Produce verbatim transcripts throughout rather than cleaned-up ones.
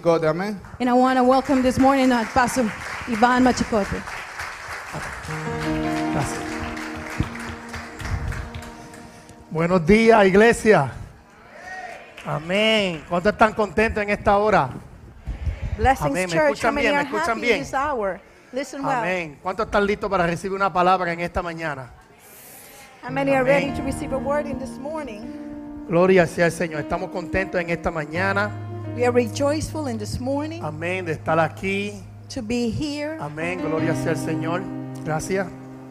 Machicote, amén. And I want to welcome this morning uh, Pastor Iván Machicote. Gracias. Buenos días, iglesia. Amén. ¿Cuántos están contentos en esta hora? Blessings, Amén. ¿Me church. escuchan How many bien? ¿Me are escuchan happy bien? this hour? Listen well. Amén. ¿Cuántos están listos para recibir una palabra en esta mañana? How many are Amén. ready to receive a word in this morning? Gloria sea el Señor. Estamos contentos en esta mañana. We are rejoiceful in this morning Amén. De estar aquí. to be here Amén. Gloria sea el Señor. Gracias.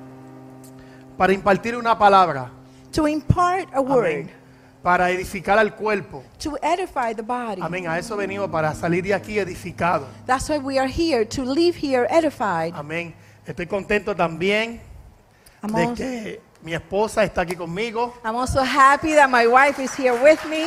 Para impartir una palabra. to impart a word, Amén. Para edificar al cuerpo. to edify the body. Amén. A eso venimos, para salir de aquí edificado. That's why we are here, to leave here edified. Amén. Estoy contento también I'm de also, que mi esposa está aquí conmigo. I'm also happy that my wife is here with me.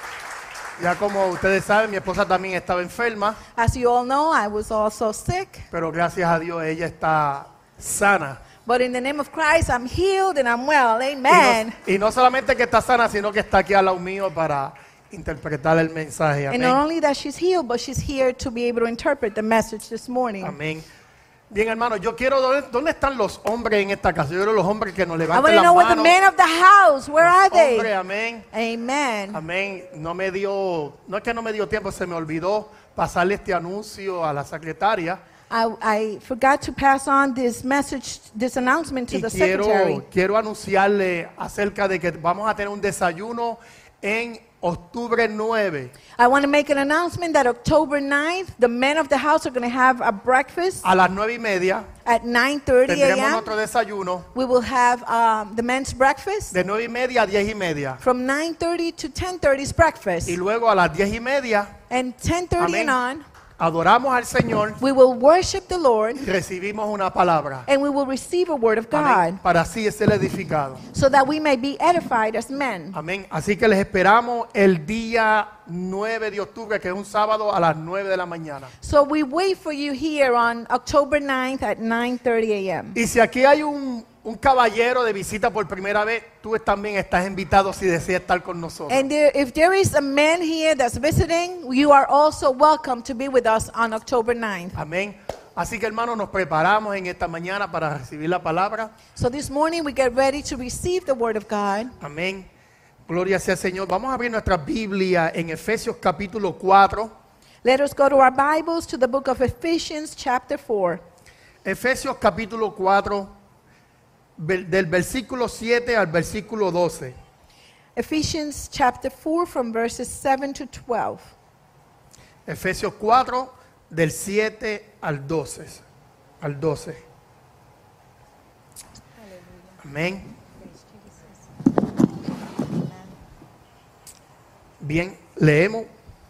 Ya como ustedes saben, mi esposa también estaba enferma, As you all know, I was also sick, pero gracias a Dios ella está sana. but in the name of Christ, I'm healed and I'm well. Y Amen. no, y no solamente que está sana, sino que está aquí al lado mío para interpretar el mensaje. And not Amén. only that she's healed, but she's here to be able to interpret the message this morning. Amén. Bien, hermano, yo quiero, ¿dónde, dónde están los hombres en esta casa? Yo quiero los hombres que nos I want levanten to las know what the manos. men of the house, where Los are they? hombres, amén. Amen. Amén. No me dio, no es que no me dio tiempo, se me olvidó pasarle este anuncio a la secretaria. I, I forgot to pass on this message, this announcement to Y the secretary. quiero, quiero anunciarle acerca de que vamos a tener un desayuno en octubre nueve I want to make an announcement that October ninth, the men of the house are going to have a breakfast a las nueve y media. at nine thirty Tendremos a m otro desayuno We will have um, the men's breakfast. de nueve y media a diez y media. From nine thirty to ten thirty is breakfast. Y luego a las diez y media And ten thirty Amén. and on, adoramos al Señor we will worship the Lord y recibimos una palabra. and we will receive a word of Amén. God Para así ser edificado. so that we may be edified as men. Amén. Así que les esperamos el día nueve de octubre, que es un sábado, a las nueve de la mañana. So we wait for you here on October ninth at nine thirty a m Y si aquí hay un, un caballero de visita por primera vez, tú también estás invitado si deseas estar con nosotros. And there, if there is a man here that's visiting, you are also welcome to be with us on October ninth. Amén. Así que hermanos, nos preparamos en esta mañana para recibir la palabra. So this morning we get ready to receive the word of God. Amén. Gloria sea al Señor. Vamos a abrir nuestra Biblia en Efesios capítulo cuatro. Let us go to our Bibles to the book of Ephesians chapter four. Efesios capítulo cuatro, ver- del versículo siete al versículo doce. Ephesians chapter four from verses seven to twelve. Efesios cuatro, del siete al doce. Al doce. Amén. Bien, leemos.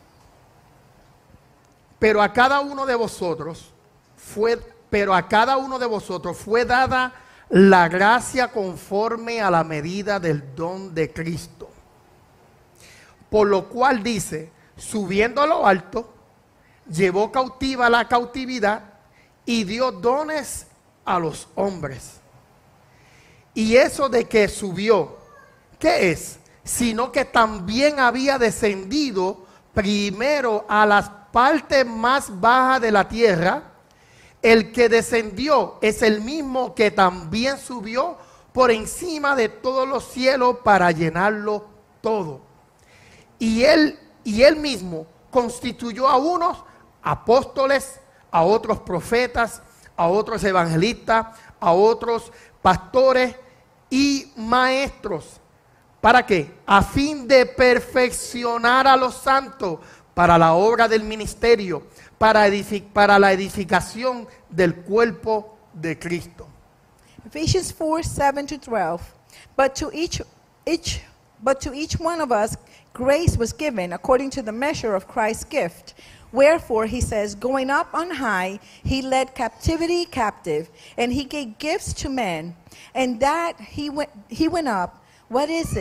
Pero a cada uno de vosotros fue, pero a cada uno de vosotros fue dada la gracia conforme a la medida del don de Cristo. Por lo cual dice, subiendo a lo alto, llevó cautiva la cautividad y dio dones a los hombres. Y eso de que subió, ¿qué es? Sino que también había descendido primero a las partes más bajas de la tierra. El que descendió es el mismo que también subió por encima de todos los cielos para llenarlo todo. Y él, y él mismo constituyó a unos apóstoles, a otros profetas, a otros evangelistas, a otros pastores y maestros. ¿Para qué? A fin de perfeccionar a los santos para la obra del ministerio, para, edific- para la edificación del cuerpo de Cristo. Ephesians four, seven to twelve. But to each each but to each one of us grace was given according to the measure of Christ's gift. Wherefore he says, going up on high, he led captivity captive, and he gave gifts to men. And that he went he went up, what is it?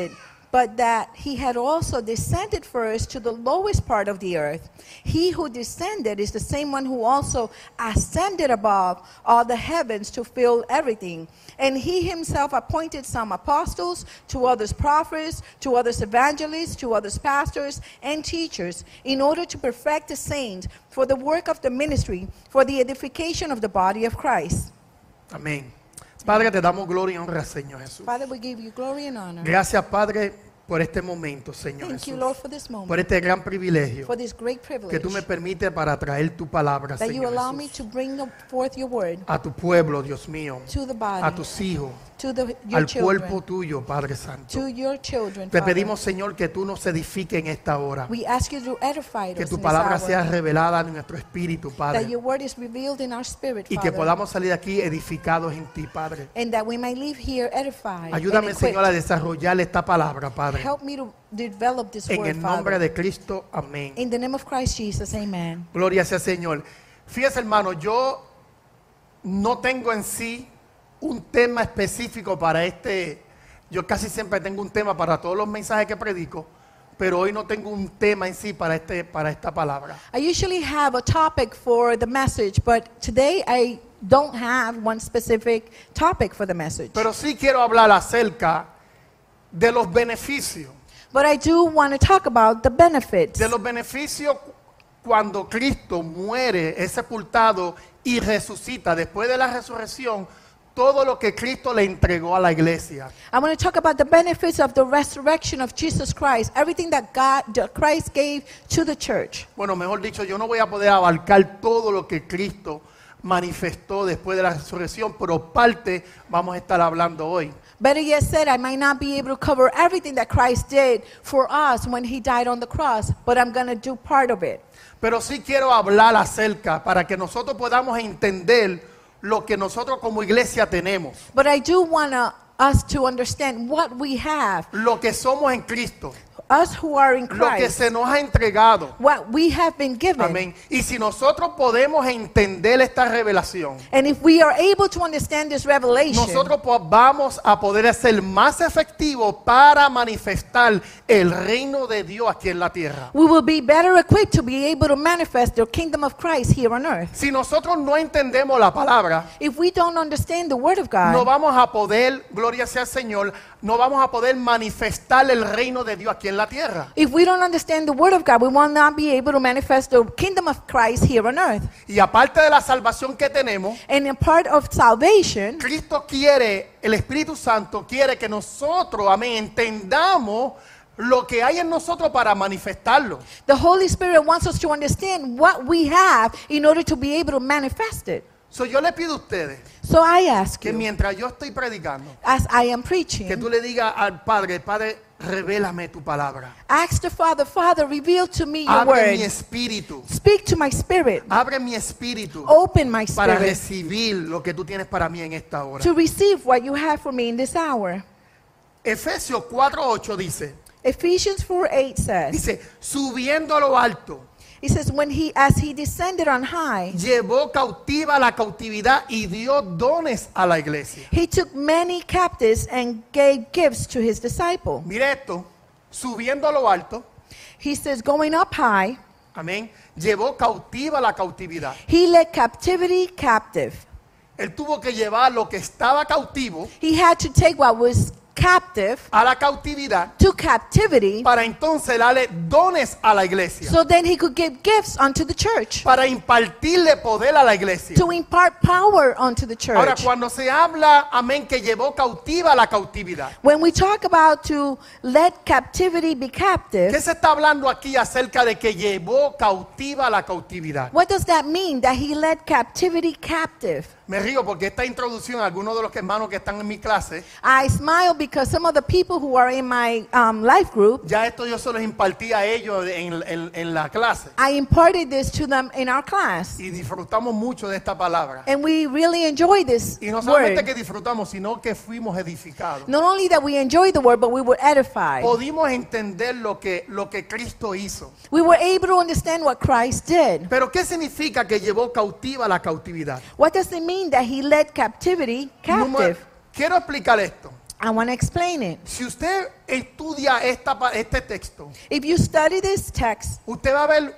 but that he had also descended first to the lowest part of the earth. He who descended is the same one who also ascended above all the heavens to fill everything. And he himself appointed some apostles, to others prophets, to others evangelists, to others pastors and teachers, in order to perfect the saints for the work of the ministry, for the edification of the body of Christ. Amén. Padre, te damos gloria y honra, Señor Jesús. Father, we give you glory and honor. Gracias, Padre, por este momento, Señor Thank you, Jesús. Lord, for this moment, Por este gran privilegio for this great que privilege tú me permites para traer tu palabra, that you Señor allow me Jesús, to bring forth your word a tu pueblo, Dios mío, to the body, a tus hijos, to the, your al cuerpo children, tuyo, Padre Santo. to your children, Te Father. pedimos, Señor, que tú nos edifiques en esta hora, We ask you to edify que us tu in this palabra hour, sea revelada en nuestro espíritu, that Padre, your word is revealed in our spirit, y que Father, podamos salir de aquí edificados en ti, Padre. and that we may leave here edified Ayúdame, and equipped. Señor, a desarrollar esta palabra, Padre. Help me to develop this En word, el nombre Father. de Cristo, amén. In the name of Christ Jesus, amen. Gloria sea Señor. Fíjese, hermano, yo no tengo en sí un tema específico para este. Yo casi siempre tengo un tema para todos los mensajes que predico, pero hoy no tengo un tema en sí para este para esta palabra. I usually have a topic for the message, but today I don't have one specific topic for the message. Pero sí quiero hablar acerca de los beneficios, But I do want to talk about the benefits. de los beneficios cuando Cristo muere, es sepultado y resucita después de la resurrección. Todo lo que Cristo le entregó a la iglesia. I want to talk about the benefits of the resurrection of Jesus Christ, everything that God, that Christ gave to the church. Bueno, mejor dicho, yo no voy a poder abarcar todo lo que Cristo manifestó después de la resurrección, pero parte vamos a estar hablando hoy. Better yet said, I might not be able to cover everything that Christ did for us when he died on the cross, but I'm going to do part of it. Pero sí quiero hablar acerca para que nosotros podamos entender lo que nosotros como iglesia tenemos, But I do want to, us to understand what we have, lo que somos en Cristo, us who are in lo que Christ, se nos ha entregado. what we have been given. Amén. Y si nosotros podemos entender esta revelación, And if we are able to understand this revelation, nosotros po- vamos a poder ser más efectivos para manifestar el reino de Dios aquí en la tierra. we will be better equipped to be able to manifest the kingdom of Christ here on earth. Si nosotros no entendemos la palabra, If we don't understand the word of God, no vamos a poder, gloria sea al Señor, no vamos a poder manifestar el reino de Dios aquí en la tierra. if we don't understand the word of God, we will not be able to manifest the kingdom of Christ here on earth. Y aparte de la salvación que tenemos, And in part of salvation, Cristo quiere, el Espíritu Santo quiere que nosotros, amén, entendamos lo que hay en nosotros para manifestarlo. the Holy Spirit wants us to understand what we have in order to be able to manifest it. So, yo le pido a ustedes So I ask que you, mientras yo estoy predicando, as I am que preaching, tú le digas al Padre, Padre, revélame tu palabra. ask the Father, Father, reveal to me your Abre mi word. espíritu. Speak to my spirit. Abre mi espíritu Open my para spirit recibir lo que tú tienes para mí en esta hora. to receive what you have for me in this hour. Efesios cuatro ocho dice, Ephesians four eight says, dice, subiendo a lo alto, it says, when he, as he descended on high, llevó cautiva la cautividad y dio dones a la iglesia. he took many captives and gave gifts to his disciple. Mire esto, subiendo a lo alto, He says, going up high, amén, llevó cautiva la cautividad. he led captivity captive. Él tuvo que llevar lo que estaba cautivo He had to take what was captive a la cautividad to captivity para entonces darle dones a la iglesia, so then he could give gifts unto the church, para impartirle poder a la iglesia. to impart power unto the Ahora, church. cuando se habla, amén, que llevó cautiva la cautividad, When we talk about to let captivity be captive, ¿qué se está hablando aquí acerca de que llevó cautiva la cautividad? what does that mean, that he led captivity captive? Me río porque esta introducción, algunos de los hermanos que están en mi clase, I smile because some of the people who are in my um, life group, ya esto yo se los impartí a ellos en, en- en la clase. I imparted this to them in our class. Y disfrutamos mucho de esta palabra. And we really enjoy this Y no solamente word. que disfrutamos, sino que fuimos edificados. Not only that we enjoy the word, but we were edified. Pudimos entender lo que, lo que Cristo hizo. We were able to understand what Christ did. Pero ¿qué significa que llevó cautiva la cautividad? What does it mean that he led captivity Número- captive? quiero explicar esto. I want to explain it. Si usted estudia esta, pa- este texto, If you study this text, usted va a ver,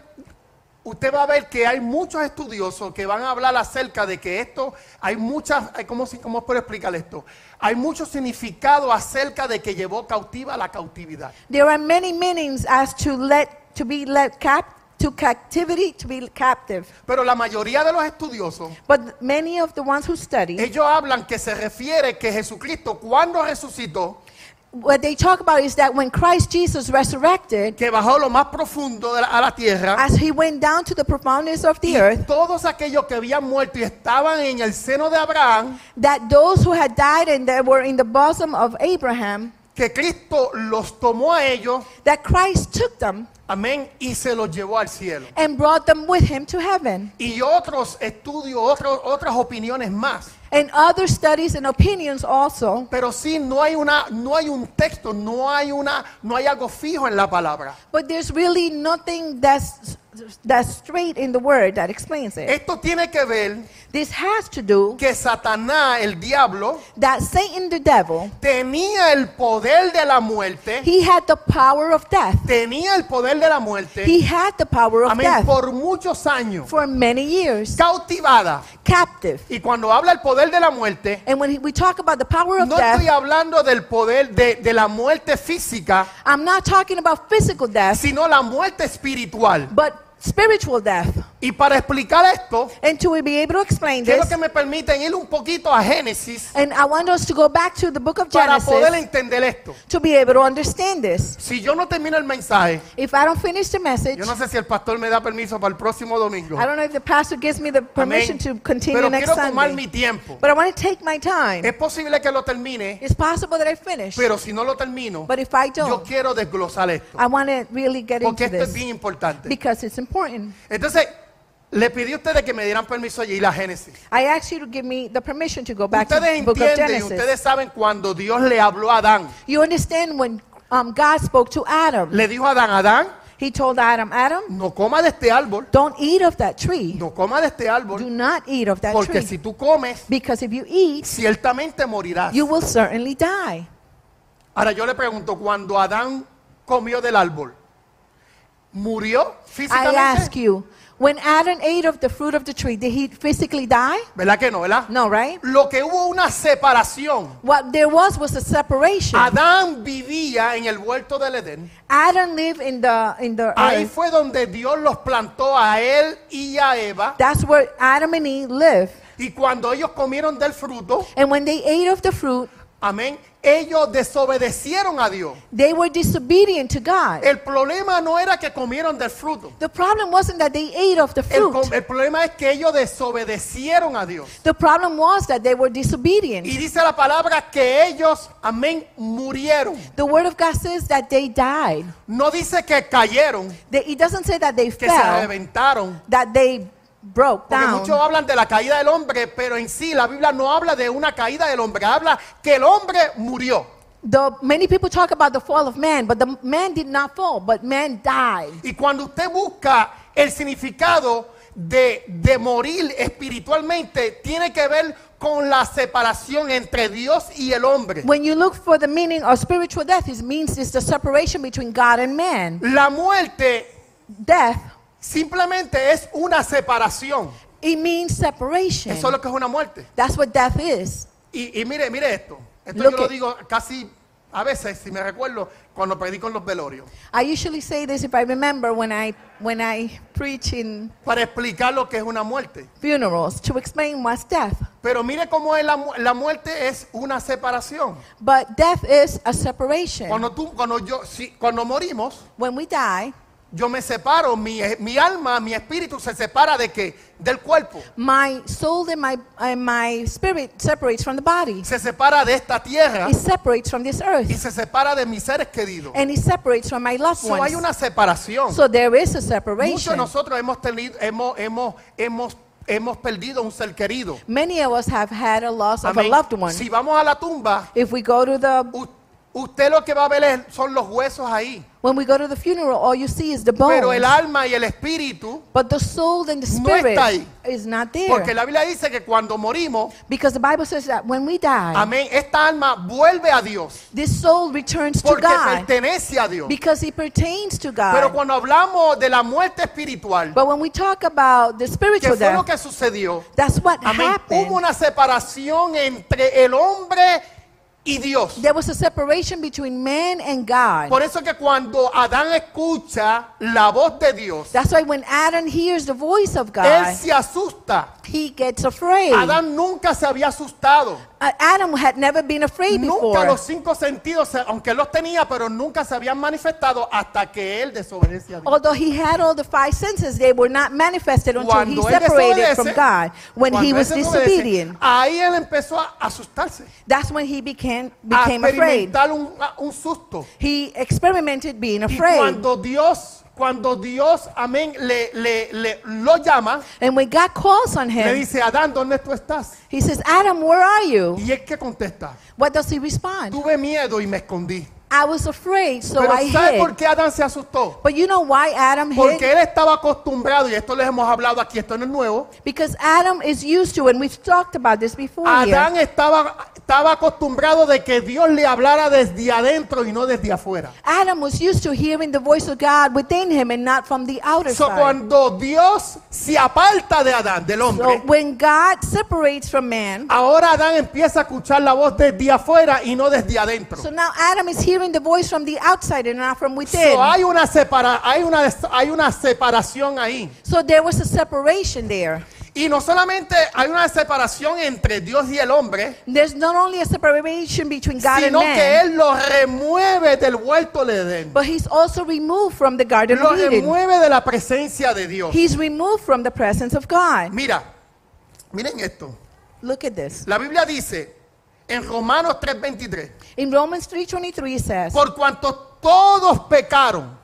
usted va a ver que hay muchos estudiosos que van a hablar acerca de que esto, hay muchas, hay- ¿cómo, si- cómo puedo explicar esto? Hay mucho significado acerca de que llevó cautiva la cautividad. there are many meanings as to let to be led cap to captivity, to be captive. Pero la mayoría de los estudiosos, But many of the ones who study, ellos hablan que se refiere que Jesucristo cuando resucitó, what they talk about is that when Christ Jesus resurrected, que bajó lo más profundo de la- a la tierra, as he went down to the profoundness of the y earth, todos aquellos que habían muerto y estaban en el seno de Abraham, that those who had died and that were in the bosom of Abraham, que Cristo los tomó a ellos, that Christ took them amén, y se los llevó al cielo. and brought them with him to heaven. Y otros estudios, otros, otras opiniones más. And other studies and opinions also. Pero sí, no hay una, no hay un texto, no hay una, no hay algo fijo en la palabra. But there's really nothing that's that's straight in the word that explains it. Esto tiene que ver This has to do que Satanás, el diablo, that Satan the devil, tenía el poder de la muerte, he had the power of death. tenía el poder de la muerte, He had the power of amén, death por muchos años, for many years, cautivada. captive. Y cuando habla el poder de la muerte, And when he- we talk about the power of no estoy death, hablando del poder de, de la muerte física, I'm not talking about physical death, sino la muerte espiritual. but spiritual death. Y para explicar esto, And to be able to explain quiero this, que me permiten ir un poquito a Génesis and I want us to go back to the book of para poder Genesis entender esto. to be able to understand this. Si yo no termino el mensaje, If I don't finish the message, yo no sé si el pastor me da permiso para el próximo domingo. I don't know if the pastor gives me the permission Amén. to continue Pero next quiero tomar mi Sunday. tiempo. But I want to take my time. Es posible que lo termine, It's possible that I finish. pero si no lo termino, But if I yo don't, quiero desglosar esto. I want to really get Porque into esto es this bien importante. because it's important. Entonces, le pedí a ustedes que me dieran permiso de ir a Génesis. I asked you to give me the permission to go back to Ustedes the book of entienden, y Genesis. ustedes saben cuando Dios le habló a Adán. You understand when um, God spoke to Adam, Le dijo a Adán, Adán, he told Adam, Adam, no coma de este árbol, don't eat of that tree. no coma de este Do árbol, not eat of that porque tree. si tú comes, Because if you eat, ciertamente morirás. you will certainly die. Ahora yo le pregunto, cuando Adán comió del árbol, ¿murió I ask físicamente? you, when Adam ate of the fruit of the tree, did he physically die? ¿Verdad que no, verdad? No, right? Lo que hubo una separación. What there was was a separation. Adán vivía en el huerto del Edén. Adam lived in the in the Ahí earth. fue donde Dios los plantó a él y a Eva. That's where Adam and Eve lived. Y cuando ellos comieron del fruto, And when they ate of the fruit, amén, ellos desobedecieron a Dios. they were disobedient to God. El problema no era que comieron del fruto. The problem wasn't that they ate of the El, fruit. com- el problema es que ellos desobedecieron a Dios. The problem was that they were disobedient. Y dice la palabra que ellos, amén, murieron. The word of God says that they died. No dice que cayeron, They, it doesn't say that they que se fell, reventaron. that they broke Porque muchos down. hablan de la caída del hombre, pero en sí la Biblia no habla de una caída del hombre, habla que el hombre murió. The, many people talk about the fall of man, but the man did not fall, but man died. Y cuando usted busca el significado de, de morir espiritualmente, tiene que ver con la separación entre Dios y el hombre. When you look for the meaning of spiritual death, it means it's the separation between God and man. La muerte Death, simplemente es una separación. it means separation. Eso es lo que es una muerte. That's what death is. Y, y mire, mire esto. Esto Look yo lo it. digo casi a veces, si me recuerdo, cuando predico en los velorios. I usually say this if I remember when I when I preach in Para explicar lo que es una muerte. funerals to explain what's death. Pero mire cómo es la, mu- la muerte es una separación. But death is a separation. Cuando tú, cuando yo, si, cuando morimos, When we die, yo me separo, mi, mi alma, mi espíritu se separa de qué? Del cuerpo. my soul and my and my spirit separates from the body. Se separa de esta tierra It separates from this earth. y se separa de mis seres queridos. And it separates from my loved So, hay ones. una separación. So there is a Muchos de separation. nosotros hemos tenido, hemos, hemos, hemos, hemos perdido un ser querido. Many of us have had a loss of a Amén. loved one. Si vamos a la tumba, If we go to the u- usted lo que va a ver es- son los huesos ahí. When we go to the funeral, all you see is the Pero el bones. alma y el espíritu, But the soul and the no spirit está ahí. is not porque there. la Biblia dice que cuando morimos, Because the Bible says that when we die, amén, esta alma vuelve a Dios this soul returns to porque God pertenece a Dios. because he pertains to Pero God. cuando hablamos de la muerte espiritual, But when we talk about the que spiritual fue lo death, que sucedió, that's what amén, happened. hubo una separación entre el hombre y Dios. There was a separation between man and God. Por eso que cuando Adán escucha la voz de Dios, That's why when Adam hears the voice of él God, se asusta. he gets afraid. Adán nunca se había asustado. Uh, Adam had never been afraid Nunca before. los cinco sentidos, se- aunque él los tenía, pero nunca se habían manifestado hasta que él desobedecía a Dios. Although he had all the five senses, they were not manifested until he Cuando él separated from desobedece, God. When cuando he él was desobedece, disobedient, ahí él empezó a asustarse, that's when he became, a became afraid. experimentar un, un susto. He experimented being Y afraid. cuando Dios, cuando Dios, amén, le, le, le lo llama, And when God calls on le him, dice, Adán, ¿dónde tú estás? he says, Adam, where are you? Y él que contesta, What does he respond? tuve miedo y me escondí. I was afraid, so Pero I ¿sabe por hid. qué Adán se asustó? But you know why Adam hid? Porque él estaba acostumbrado, y esto les hemos hablado aquí, esto no es nuevo. Because Adam is used to, and we've talked about this before Adán here. estaba, estaba acostumbrado de que Dios le hablara desde adentro y no desde afuera. Adam was used to hearing the voice of God within him and not from the outer So, side. cuando Dios se aparta de Adán, del So hombre, when God separates from man, ahora Adán empieza a escuchar la voz desde afuera y no desde adentro. so now Adam is hearing the voice from the outside and not from within. So, hay, una separa, hay, una, hay una separación ahí. So there was a separation there. Y no solamente hay una separación entre Dios y el hombre, There's not only a separation between God and sino que man, Él lo remueve del huerto de Edén. but he's also removed from the Garden Lo of Eden. remueve de la presencia de Dios. He's removed from the presence of God. Mira, miren esto. Look at this. La Biblia dice en Romanos tres veintitrés, In Romans three twenty-three it says, por cuanto todos pecaron.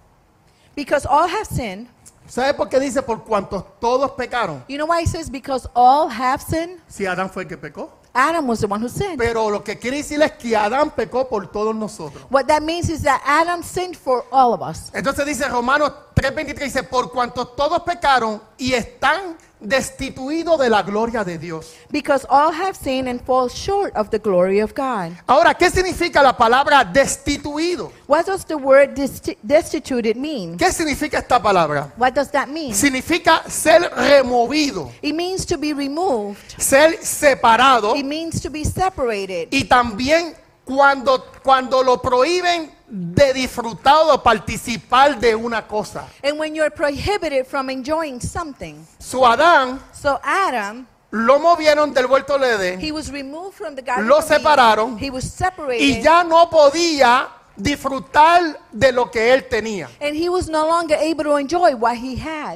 because all have sinned. ¿Sabe por qué dice por cuanto todos pecaron? You know why it says because all have sinned? Si Adán fue el que pecó. Adam was the one who sinned. Pero lo que quiere decir es que Adán pecó por todos nosotros. What that means is that Adam sinned for all of us. Entonces dice Romanos tres veintitrés, dice, por cuanto todos pecaron y están destituidos de la gloria de Dios. Because all have sinned and fall short of the glory of God. Ahora, ¿qué significa la palabra destituido? What does the word desti- destituted mean? ¿Qué significa esta palabra? What does that mean? Significa ser removido, It means to be removed. ser separado It means to be separated. y también cuando, cuando lo prohíben de disfrutar o participar de una cosa. And when you're prohibited from enjoying something. Su Adán So Adam, lo movieron del huerto de Edén he was removed from the Garden Lo of Eden. separaron He was y separated. ya no podía disfrutar de lo que él tenía. And he was no longer able to enjoy what he had.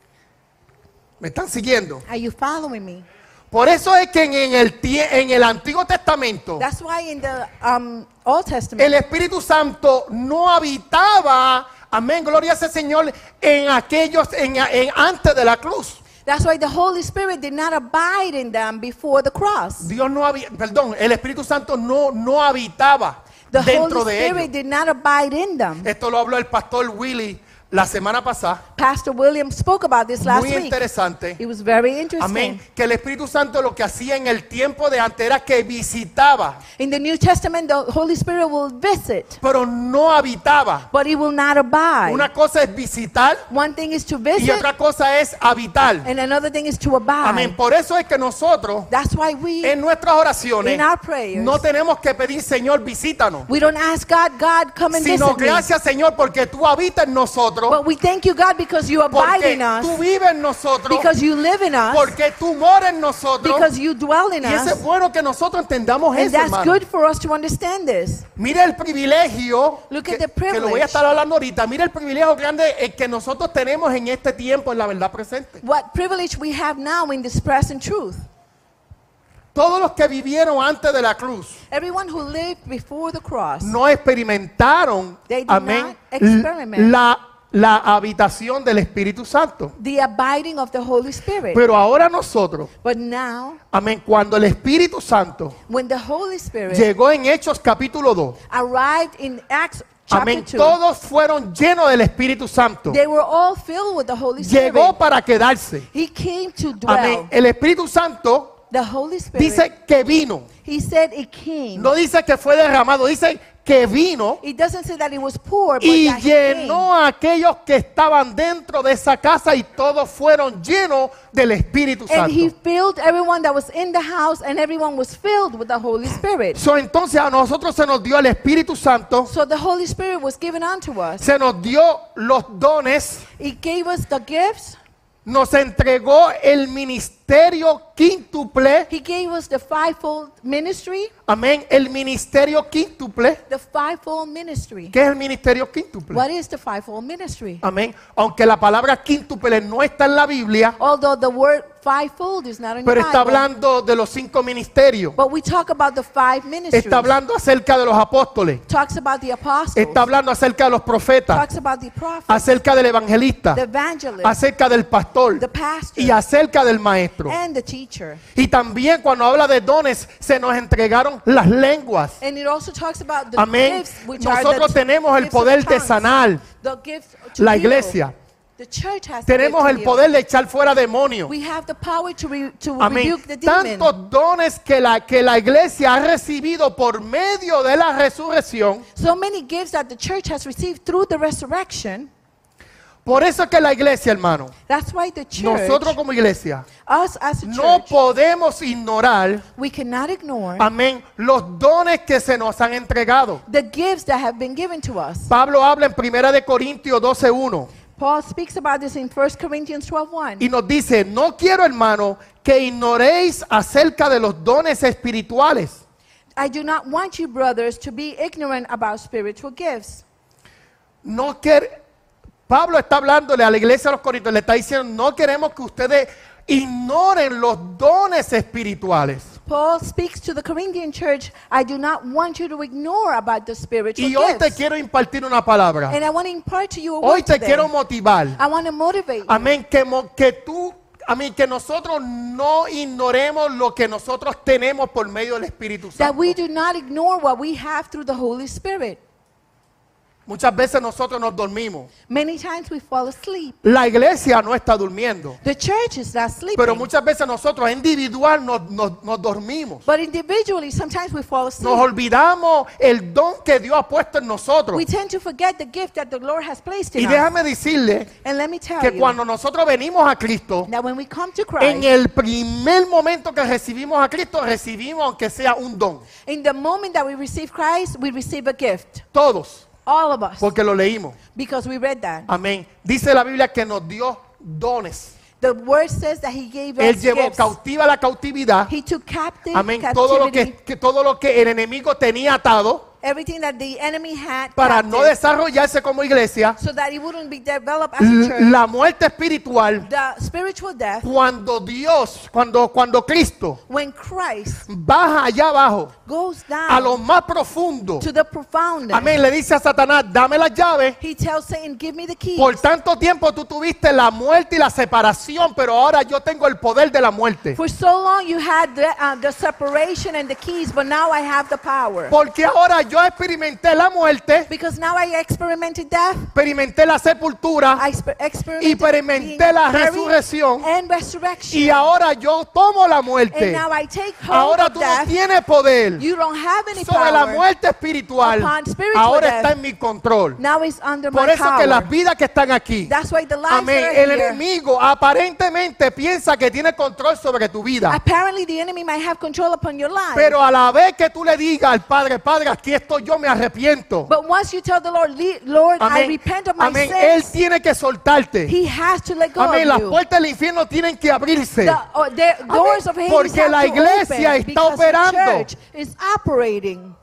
¿Me están siguiendo? Are you following me? Por eso es que en el, tie- en el Antiguo Testamento That's why in the um, Old Testament, el Espíritu Santo no habitaba, amén, gloria a ese Señor, en aquellos, en, en- antes de la cruz. that's why the Holy Spirit did not abide in them before the cross. Dios no había, perdón, el Espíritu Santo no, no habitaba The dentro Holy de Spirit ellos. did not abide in them. Esto lo habló el pastor Willy la semana pasada. Pastor William spoke about this last Muy week. interesante. It was very interesting. Amén. Que el Espíritu Santo lo que hacía en el tiempo de antes era que visitaba, In the New Testament, the Holy Spirit will visit, pero no habitaba. but he will not abide. Una cosa es visitar One thing is to y visit, otra cosa es habitar. and another thing is to abide. Amén. Por eso es que nosotros That's why we, en nuestras oraciones in our prayers, no tenemos que pedir, Señor, visítanos, we don't ask God, God, come and sino visit me. gracias, Señor, porque tú habitas en nosotros, But we thank you, God, because you abide porque in us, tú vives en nosotros, because you live in us, porque tú moras en nosotros. because you dwell in Y eso es us. bueno que nosotros entendamos And eso, that's hermano. good for us to understand this. Mira el privilegio, Look que, at the que lo voy a estar hablando ahorita. Mira el privilegio grande eh, que nosotros tenemos en este tiempo, en la verdad presente. What privilege we have now in this present truth. Todos los que vivieron antes de la cruz Everyone who lived before the cross, no experimentaron, They did amén, not experiment. la, la habitación del Espíritu Santo. the abiding of the Holy Spirit. Pero ahora nosotros, But now, amén, cuando el Espíritu Santo when the Holy Spirit llegó en Hechos capítulo dos, arrived in Acts chapter amén, two, todos fueron llenos del Espíritu Santo. they were all filled with the Holy Spirit. Llegó para quedarse. He came to dwell. Amén. El Espíritu Santo The Holy Spirit, dice que vino. he said it came. No dice que fue derramado, dice que vino It doesn't say that it was poor, but y that he came. llenó a aquellos que estaban dentro de esa casa y todos fueron llenos del Espíritu And he Santo. filled everyone that was in the house, and everyone was filled with the Holy Spirit. So, entonces a nosotros se nos dio el Espíritu Santo, So the Holy Spirit was given unto us. se nos dio los dones, He gave us the gifts. nos entregó el ministerio quíntuple. He gave us the fivefold ministry. Amén. El ministerio quíntuple. The fivefold ministry. ¿Qué es el ministerio quíntuple? What is the fivefold ministry? Amén. Aunque la palabra quíntuple no está en la Biblia, Although the word fivefold is not in pero the está Bible, hablando de los cinco ministerios. but we talk about the five ministries. Está hablando acerca de los apóstoles. Talks about the apostles. Está hablando acerca de los profetas. Talks about the prophets, Acerca del evangelista. the evangelists, Acerca del pastor. the pastor, Y acerca del maestro. and the teacher. Y también cuando habla de dones, se nos entregaron las lenguas. And it also talks about the Amén. gifts, which are Nosotros the tenemos el gifts of poder de tongues. sanar The gift to la heal. iglesia. The church has the Tenemos gift to el heal. poder de echar fuera demonios. We have the power to, re, to Amén. rebuke the demon. Tantos dones que la, que la iglesia ha recibido por medio de la resurrección. So many gifts that the church has received through the resurrection. Por eso es que la iglesia, hermano, That's why the church, nosotros como iglesia, us as a no church, podemos ignorar, we cannot ignore amén, los dones que se nos han entregado. the gifts that have been given to us. Pablo habla en primera de Corintios doce uno Paul speaks about this in First Corinthians twelve one. y nos dice, no quiero, hermano, que ignoréis acerca de los dones espirituales. I do not want you, brothers, to be ignorant about spiritual gifts. No quer- Pablo está hablándole a la iglesia de los Corintios, le está diciendo, no queremos que ustedes ignoren los dones espirituales. Paul speaks to the Corinthian church, I do not want you to ignore about the spiritual Y hoy te gifts. quiero impartir una palabra. And I want to impart to you a Hoy word te today. quiero motivar. I want to motivate you. Amén. Que, mo- que tú, amén, que nosotros no ignoremos lo que nosotros tenemos por medio del Espíritu That Santo. we do not ignore what we have through the Holy Spirit. Muchas veces nosotros nos dormimos. Many times we fall asleep. La iglesia no está durmiendo. The church is not sleeping. Pero muchas veces nosotros individual nos, nos- nos dormimos. But individually, sometimes we fall asleep. Nos olvidamos el don que Dios ha puesto en nosotros. We tend to forget the gift that the Lord has placed Y in us. déjame decirle And let me tell que you cuando nosotros venimos a Cristo, that when we come to en Christ, el primer momento que recibimos a Cristo, recibimos aunque sea un don. in the moment that we receive Christ, we receive a gift. Todos, All of us. porque lo leímos. Because we read that. Amén. Dice la Biblia que nos dio dones. The word says that he gave Él us llevó gifts. cautiva la cautividad. He took captive Amén. Todo lo captivity, que, que todo lo que el enemigo tenía atado everything that the enemy had para captive, no desarrollarse como iglesia. so that it wouldn't be developed as a L- church. La muerte espiritual, The spiritual death, cuando Dios, cuando, cuando Cristo when Christ baja allá abajo goes a lo down más profundo, to the profoundness, amén, le dice a Satanás, dame las llaves. he tells Satan, give me the keys. Por tanto tiempo tú tuviste la muerte y la separación, pero ahora yo tengo el poder de la muerte. For so long you had the, uh, the separation and the keys, but now I have the power. Porque ahora yo experimenté la muerte, Because now I experimented death, experimenté la sepultura I exper- y experimented experimenté being la buried resurrección. and resurrection. Y ahora yo tomo la And muerte. now I take hold Ahora of tú no death. tienes poder You don't have any sobre la power. muerte espiritual. upon spiritual Ahora death. está en mi control. Now it's under Por my eso power. que las vidas que están aquí, That's why the lives amén, that are el here, enemigo aparentemente piensa que tiene control sobre tu vida. apparently the enemy might have control upon your life. Pero a la vez que tú le digas al Padre, Padre, aquí estoy yo, me arrepiento. But once you tell the Lord, "Le- Lord, I Amén. repent of my Amén. Él sins," tiene que soltarte. he has to let go Amén. of Las you. puertas del infierno tienen que abrirse. The, uh, the doors of Hades Porque have la to iglesia open está because operando. the church is operating.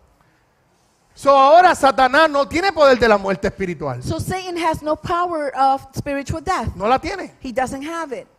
So ahora Satanás no tiene poder de la muerte espiritual. So Satan has no power of spiritual death. No la tiene. He doesn't have it.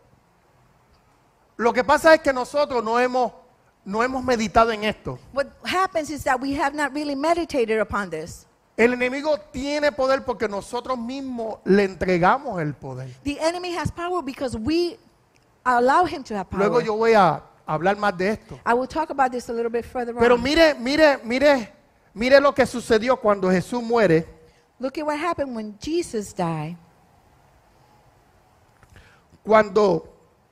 Lo que pasa es que nosotros no hemos, no hemos meditado en esto. What happens is that we have not really meditated upon this. El enemigo tiene poder porque nosotros mismos le entregamos el poder. The enemy has power because we allow him to have power. Luego yo voy a hablar más de esto. I will talk about this a little bit further Pero on. mire, mire, mire, mire lo que sucedió cuando Jesús muere. Look at what happened when Jesus died. Cuando,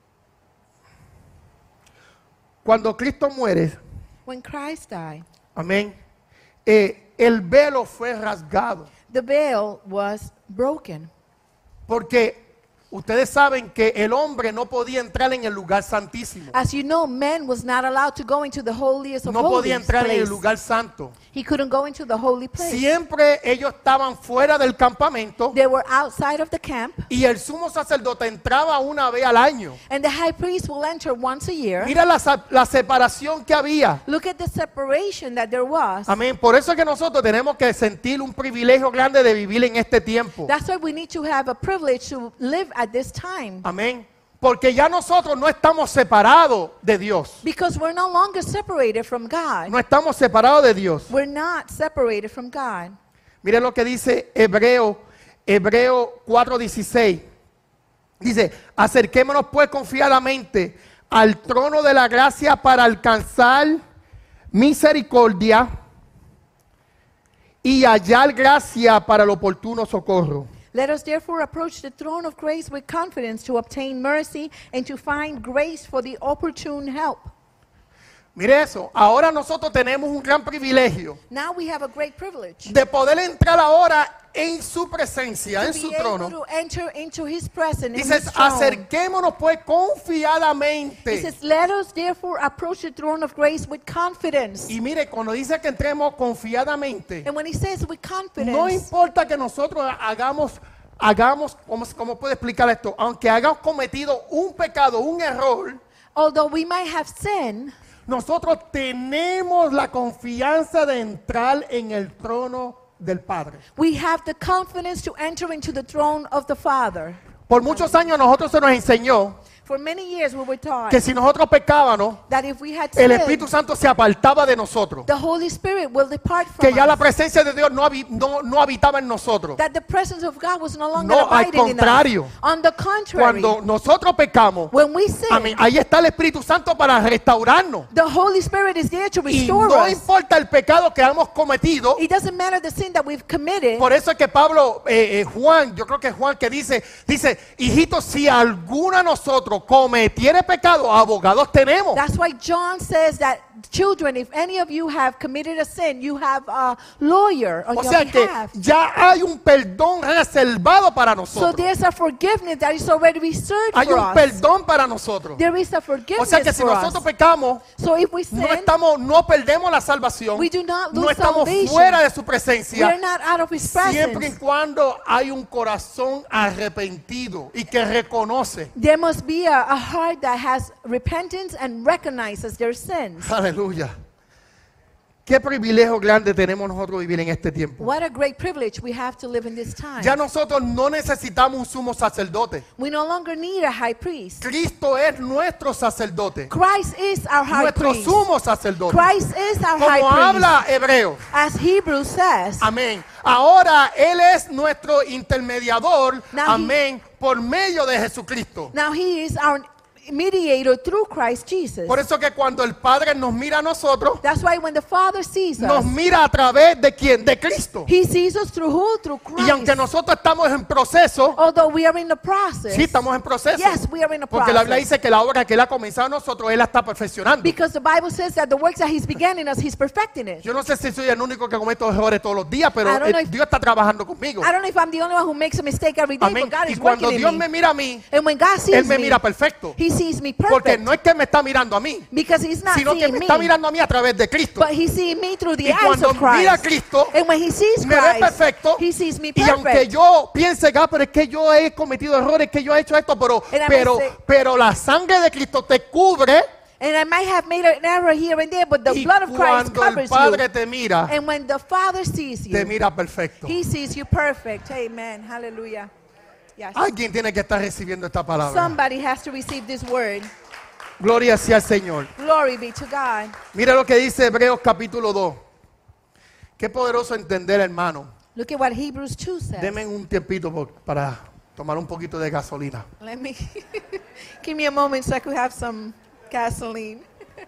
cuando Cristo muere, When Christ died, amén, eh, el velo fue rasgado. the veil was broken. Porque ustedes saben que el hombre no podía entrar en el lugar santísimo. As you know, man was not allowed to go into the holiest of No podía holies entrar en el place. lugar santo. He couldn't go into the holy place. Siempre ellos estaban fuera del campamento They were outside of the camp, y el sumo sacerdote entraba una vez al año. and the high priest will enter once a year. Mira la, sa- la separación que había. Look at the separation that there was. Amén. Por eso es que nosotros tenemos que sentir un privilegio grande de vivir en este tiempo. That's why we need to have a privilege to live at this time. Amén. Porque ya nosotros no estamos separados de Dios. Because we're no longer separated from God. No estamos separados de Dios. We're not separated from God. Mire lo que dice Hebreo, Hebreo cuatro dieciséis. Dice, acerquémonos pues confiadamente al trono de la gracia para alcanzar misericordia y hallar gracia para el oportuno socorro. Let us therefore approach the throne of grace with confidence to obtain mercy and to find grace for the opportune help. Mire eso, ahora nosotros tenemos un gran privilegio Now we have a great privilege de poder entrar ahora en su presencia, en to su be able trono. to enter into his presence, in Dice, his throne. acerquémonos pues He confiadamente. says, let us therefore approach the throne of grace with confidence. Y mire, cuando dice que entremos confiadamente, And when he says with confidence, no importa que nosotros hagamos, hagamos, ¿cómo, cómo puedo explicar esto? Aunque hayamos cometido un pecado, un error, although we might have sinned, nosotros tenemos la confianza de entrar en el trono del Padre. we have the confidence to enter into the throne of the Father. Por muchos años a nosotros se nos enseñó For many years we were taught que si nosotros pecábamos, that if we had el sinned, Espíritu Santo se apartaba de nosotros. the Holy Spirit will depart from Que ya la us. presencia de Dios no, habi- no, no habitaba en nosotros. That the presence of God was no longer No, al abiding in contrario. us. On the contrary, Cuando nosotros pecamos, when we sin, amén, ahí está el Espíritu Santo para restaurarnos. the Holy Spirit is there to Y restore no us. importa el pecado que hemos cometido. It doesn't matter the sin that we've committed. Por eso es que Pablo, eh, eh, Juan, yo creo que es Juan que dice, dice, hijitos, si alguno de nosotros cometiere pecado, abogados tenemos. That's why John says that, children, if any of you have committed a sin, you have a lawyer on O your sea que behalf. ya hay un perdón reservado para So nosotros. there's a forgiveness that is already reserved Hay for un us. perdón para nosotros. There is a O forgiveness sea que si for nosotros us. pecamos, So if we sin, no estamos, no perdemos la salvación, we do not no lose estamos salvation. fuera de su We're presencia, not out of his siempre y presence. cuando hay un corazón arrepentido y que reconoce. There must be a, a heart that has repentance and recognizes their sins. Aleluya. Qué privilegio grande tenemos nosotros vivir en este tiempo. What a great privilege we have to live in this time. Ya nosotros no necesitamos un sumo sacerdote. We no longer need a high priest. Cristo es nuestro sacerdote, Christ is our high nuestro priest. sumo sacerdote. Christ is our high Como priest. habla Hebreo. As Hebrews says, Amén. Ahora Él es nuestro intermediador. Now he- Amén. Por medio de Jesucristo. now he is our mediator through Christ Jesus. Por eso que cuando el Padre nos mira a nosotros, That's why when the Father sees nos us, mira a través de quién? De Cristo. he sees us through who? Through Christ. Y aunque nosotros estamos en proceso, Although we are in the process. sí estamos en proceso. Yes, we are in a Porque la Biblia process. dice que la obra que Él ha comenzado en nosotros, Él la está perfeccionando. Because the Bible says that the works that he's began in us, he's perfecting it. Yo no sé si soy el único que cometo errores todos los días, pero I don't eh, know if- Dios está trabajando conmigo. I don't know if I'm the only one who makes a mistake every day, Amén. but God Y is cuando working Dios in me me. mira a mí, And when God sees Él me me, mira perfecto. he sees me Porque perfect. no es que me está mirando a mí, Because he's not sino que seeing me me, está mirando a mí a través de Cristo. but he's seeing me through the Y eyes cuando of Christ. mira a Cristo, And when he sees me ve Christ, perfecto. he sees me Y aunque perfect. yo piense, ah, pero es que yo he cometido errores, que yo he hecho esto, pero, And I may pero, say- pero la sangre de Cristo te cubre. And I might have made an error here and there, but the Y blood of Christ cuando el covers Padre you. te mira, And when the Father sees te you, mira perfecto. he sees you perfect. Amen. Hallelujah. Yes. Alguien tiene que estar recibiendo esta palabra. Somebody has to receive this word. Gloria sea al Señor. Glory be to God. Mira lo que dice Hebreos capítulo dos. Qué poderoso entender, hermano. Look at what Hebrews two says. Denme un tiempito por- para tomar un poquito de gasolina. Let me give me a moment so I could have some gasoline.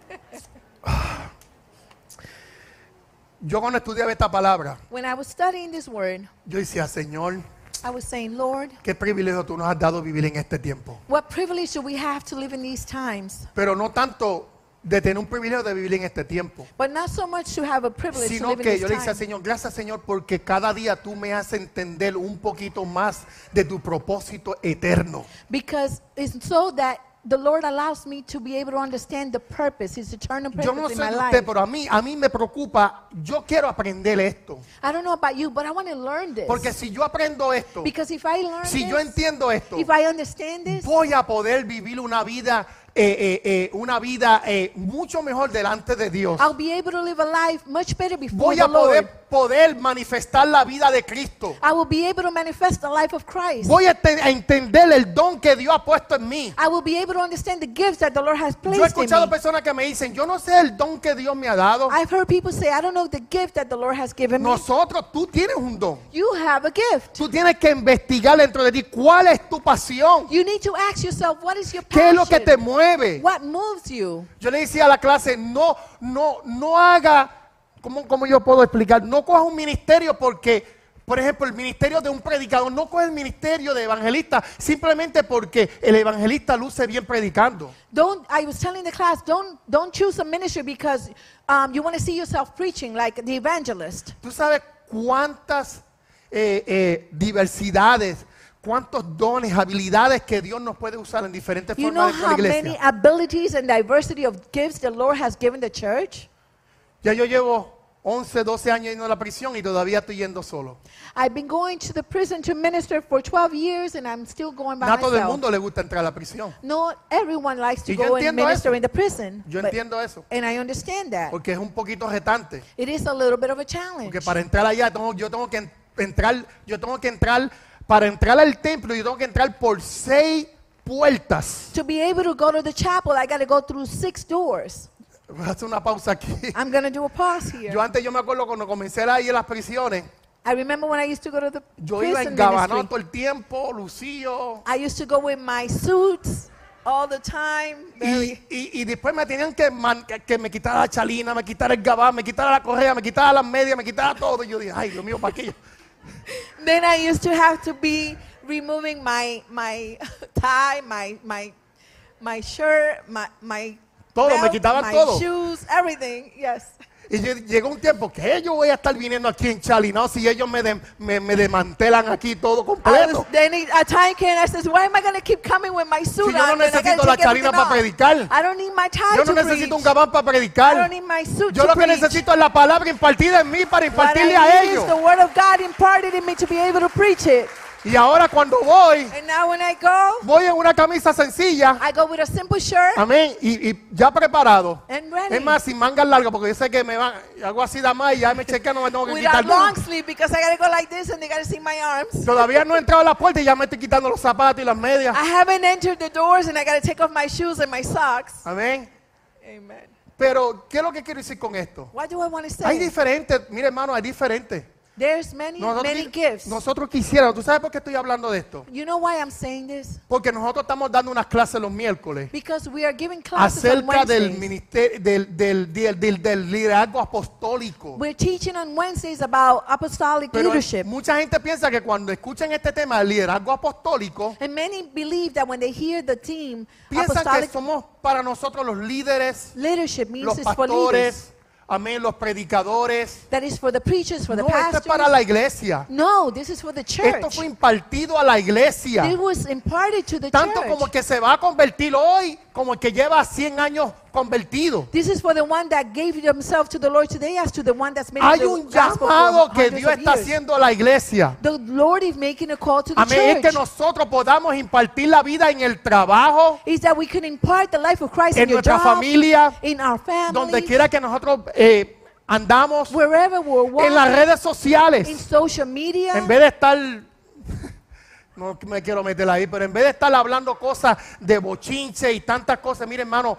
Yo cuando estudiaba esta palabra, When I was studying this word, yo decía, Señor, I was saying, Lord, qué privilegio tú nos has dado vivir en este tiempo. what privilege do we have to live in these times? Pero no tanto de tener un privilegio de vivir en este tiempo, But not so much to have a privilege to sino live in que this yo le decía, time. Señor, gracias Señor, porque cada día tú me haces entender un poquito más de tu propósito eterno. Because it's so that the Lord allows me to be able to understand the purpose, His eternal Yo no purpose in sé my de life. usted, pero a mí, a mí me preocupa, yo quiero aprender esto. I don't know about you, but I want to learn this. Porque si yo aprendo esto, Because if I learn si yo this, entiendo esto, if I understand this, voy a poder vivir una vida, eh, eh, eh, una vida eh, mucho mejor delante de Dios. I'll be able to live a life much better before Voy the a poder, Lord. poder manifestar la vida de Cristo. I will be able to manifest the life of Christ. Voy a, te- a entender el don que Dios ha puesto en mí. I will be able to understand the gifts that the Lord has Yo he placed in escuchado me. personas que me dicen, yo no sé el don que Dios me ha dado. I've heard people say, I don't know the gift that the Lord has given me. Nosotros, tú tienes un don. You have a gift. Tú tienes que investigar dentro de ti cuál es tu pasión. You need to ask yourself, what is your ¿Qué es lo que te passion? mueve? What moves you? Yo le decía a la clase, no, no, no haga, ¿cómo, cómo yo puedo explicar? No coja un ministerio porque, por ejemplo, el ministerio de un predicador, no coja el ministerio de evangelista simplemente porque el evangelista luce bien predicando. Don't. I was telling the class, don't don't choose a ministry because um, you want to see yourself preaching like the evangelist. ¿Tú sabes cuántas eh, eh, diversidades, cuántos dones, habilidades que Dios nos puede usar en diferentes You know formas dentro de how la many iglesia? abilities and diversity of gifts the Lord has given the church? Ya yo llevo once, doce años yendo a la prisión y todavía estoy yendo solo. I've been going to the prison to minister for twelve years and I'm still going by No a todo el myself. mundo le gusta entrar a la prisión. Not everyone likes to Y yo go and entiendo minister eso. in the prison. Yo but- entiendo eso, and I understand that. porque es un poquito retante. It is a little bit of a challenge. Porque para entrar allá tengo- yo tengo que en- entrar, yo tengo que entrar, para entrar al templo yo tengo que entrar por seis puertas. To be able to go to the chapel, I got to go through six doors. Voy a hacer una pausa aquí. I'm going to do a pause here. Yo antes yo me acuerdo cuando comencé a ir a las prisiones, I remember when I used to go to the yo iba prison engabanado ministry. todo el tiempo, lucido. I used to go with my suits all the time. Very, Y, y, y después me tenían que, man- que, que me quitara la chalina, me quitara el gabán, me quitara la correa, me quitara las medias, me quitara todo. Y yo dije, ay, Dios mío, ¿para qué? Then I used to have to be removing my my tie, my my my shirt, my my Todo, me belt, quitaban my todo. shoes, everything. Yes. Y yo- llegó un tiempo que yo voy a estar viniendo aquí en Chalinao si ellos me, de- me, me desmantelan aquí todo I completo. was, then it- a time came and I said, why am I going to keep coming with my suit Si yo no on when I gotta necesito la take everything chalina para off? predicar. I don't need my tie Yo no to necesito un preach. gabán para I don't predicar. need my suit Yo to lo que preach. necesito es la palabra impartida en mí para What impartirle I a need ellos. is the word of God imparted in me to be able to preach it. Y ahora cuando voy, And now when I go, voy en una camisa sencilla. I go with a simple shirt Amén. Y, y ya preparado. and ready. Es más, sin mangas largas, porque yo sé que me van, hago así de más y ya me chequean, no me tengo que Without quitar. long sleeve because I got to go like this and they got to see my arms. Todavía no he entrado a la puerta y ya me estoy quitando los zapatos y las medias. I haven't entered the doors and I got to take off my shoes and my socks. Amén. Amen. Pero, ¿qué es lo que quiero decir con esto? What do I want to Hay say? diferentes, mire hermano, hay diferentes. There's many, Nosotros, many gifts. nosotros quisiéramos, ¿tú sabes por qué estoy hablando de esto? You know why I'm saying this? Porque nosotros estamos dando unas clases los miércoles Because we are giving classes on acerca del Wednesdays. ministerio, del, del, del, del- del liderazgo apostólico. We're teaching on Wednesdays about apostolic Pero leadership. mucha gente piensa que cuando escuchan este tema del liderazgo apostólico, And many believe that when they hear the team, piensan que apostolic somos para nosotros los líderes, leadership means los it's for leaders. pastores, amén, los predicadores. That is for the preachers, for the No, esto es pastors. para la iglesia. No, this is for the Esto church. fue impartido a la iglesia. It was imparted to the Tanto church. como que se va a convertir hoy, como el que lleva cien años convertido. This is for the one that gave themselves to the Lord today as to the one that's made Hay the un gospel llamado for que hundreds Dios of está years. haciendo a la iglesia. The Lord is making a call to the Amén. Es que church. nosotros podamos impartir la vida en el trabajo, Is that we can impart the life of Christ en in your nuestra job, familia, in our family, donde quiera que nosotros eh, andamos, wherever we're en las walking, redes in sociales. social media. En vez de estar, no me quiero meter ahí, pero en vez de estar hablando cosas de bochinche y tantas cosas, mire hermano,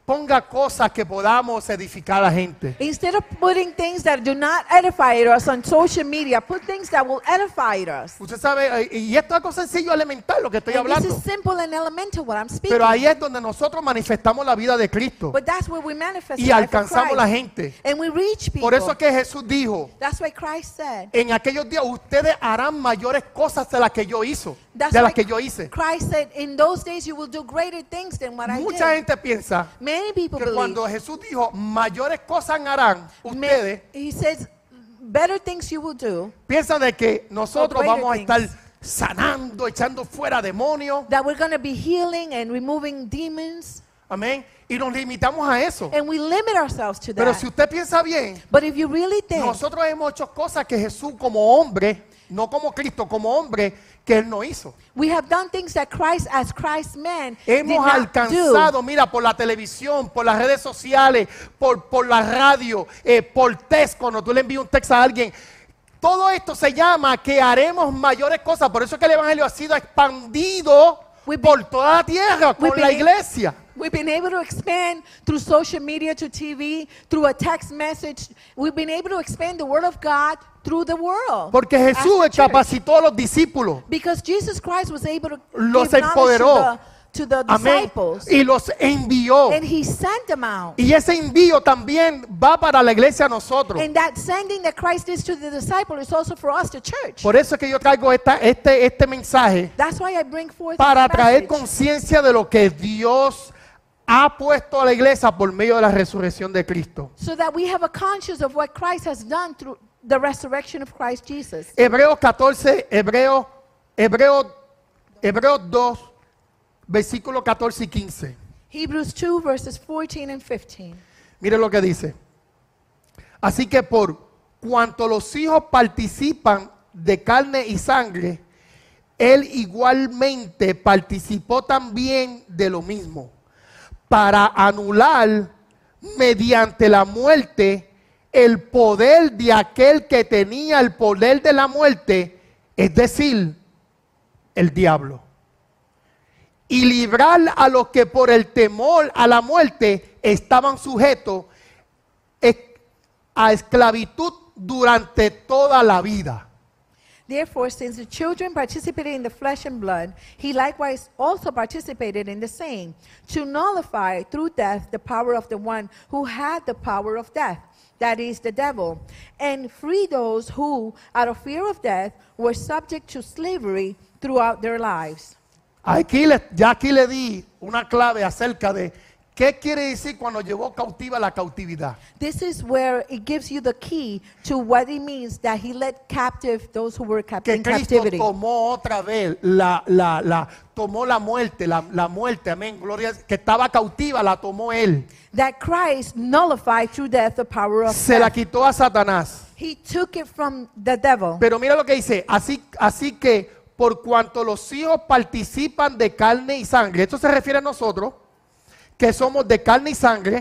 ponga cosas que podamos edificar a la gente. Instead of putting things that do not edify us on social media, put things that will edify us. Usted sabe, eh, y esto es algo sencillo, elemental, lo que estoy And this hablando. is simple and elemental what I'm speaking. Pero ahí es donde nosotros manifestamos la vida de Cristo But that's where we manifest y the life of alcanzamos la Christ. gente. And we reach people. Por eso es que Jesús dijo, That's why Christ said. en aquellos días ustedes harán mayores cosas de las que yo hizo, That's de why las que yo hice. Christ said, in those days you will do greater things than what I Mucha did. gente piensa Many people que believe. cuando Jesús dijo, mayores cosas harán Ma- ustedes, He says, better things you will do. piensan de que nosotros greater vamos a things. estar sanando, echando fuera demonios. That we're going to be healing and removing demons. Amén. Y nos limitamos a eso. And we limit ourselves to Pero that. si usted piensa bien, But if you really think, nosotros hemos hecho cosas que Jesús como hombre, no como Cristo, como hombre, que Él no hizo. we have done things that Christ, as Christ's man, did Hemos not alcanzado, do. mira, por la televisión, por las redes sociales, por, por la radio, eh, por text, cuando tú le envías un texto a alguien. Todo esto se llama que haremos mayores cosas. Por eso es que el Evangelio ha sido expandido We've por toda la tierra, we've con la been- iglesia. We've been able to expand through social media to T V, through a text message. We've been able to expand the word of God through the world. Porque as Jesús the church. capacitó a los discípulos. Because Jesus Christ was able to Los give knowledge empoderó. to the, to the Amén. disciples. Y los envió. And he sent them out. Y ese envío también va para la iglesia a nosotros. And that sending that Christ did to the disciple is also for us, the church. Por eso es que yo traigo esta, este, este mensaje That's why I bring forth para this traer message, conciencia de lo que Dios ha puesto a la iglesia por medio de la resurrección de Cristo. so that we have a conscience of what Christ has done through the resurrection of Christ Jesus. Hebreos catorce, Hebreos, Hebreos, Hebreos dos, versículos catorce y quince. Hebrews two, verses fourteen and fifteen. Mire lo que dice. Así que por cuanto los hijos participan de carne y sangre, Él igualmente participó también de lo mismo, para anular mediante la muerte el poder de aquel que tenía el poder de la muerte, es decir, el diablo. Y librar a los que por el temor a la muerte estaban sujetos es- a esclavitud durante toda la vida. Therefore, since the children participated in the flesh and blood, he likewise also participated in the same, to nullify through death the power of the one who had the power of death, that is, the devil, and free those who, out of fear of death, were subject to slavery throughout their lives. Aquí le, ya aquí le di una clave acerca de qué quiere decir cuando llevó cautiva la cautividad. This is where it gives you the key to what it means that he led captive those who were cap- Que in Cristo captivity. tomó otra vez la, la, la, tomó la muerte, la, la muerte, amén, gloria, que estaba cautiva, la tomó Él. That Christ nullified through death the power of Se la death. quitó a Satanás. He took it from the devil. Pero mira lo que dice, así, así que por cuanto los hijos participan de carne y sangre, esto se refiere a nosotros, que somos de carne y sangre,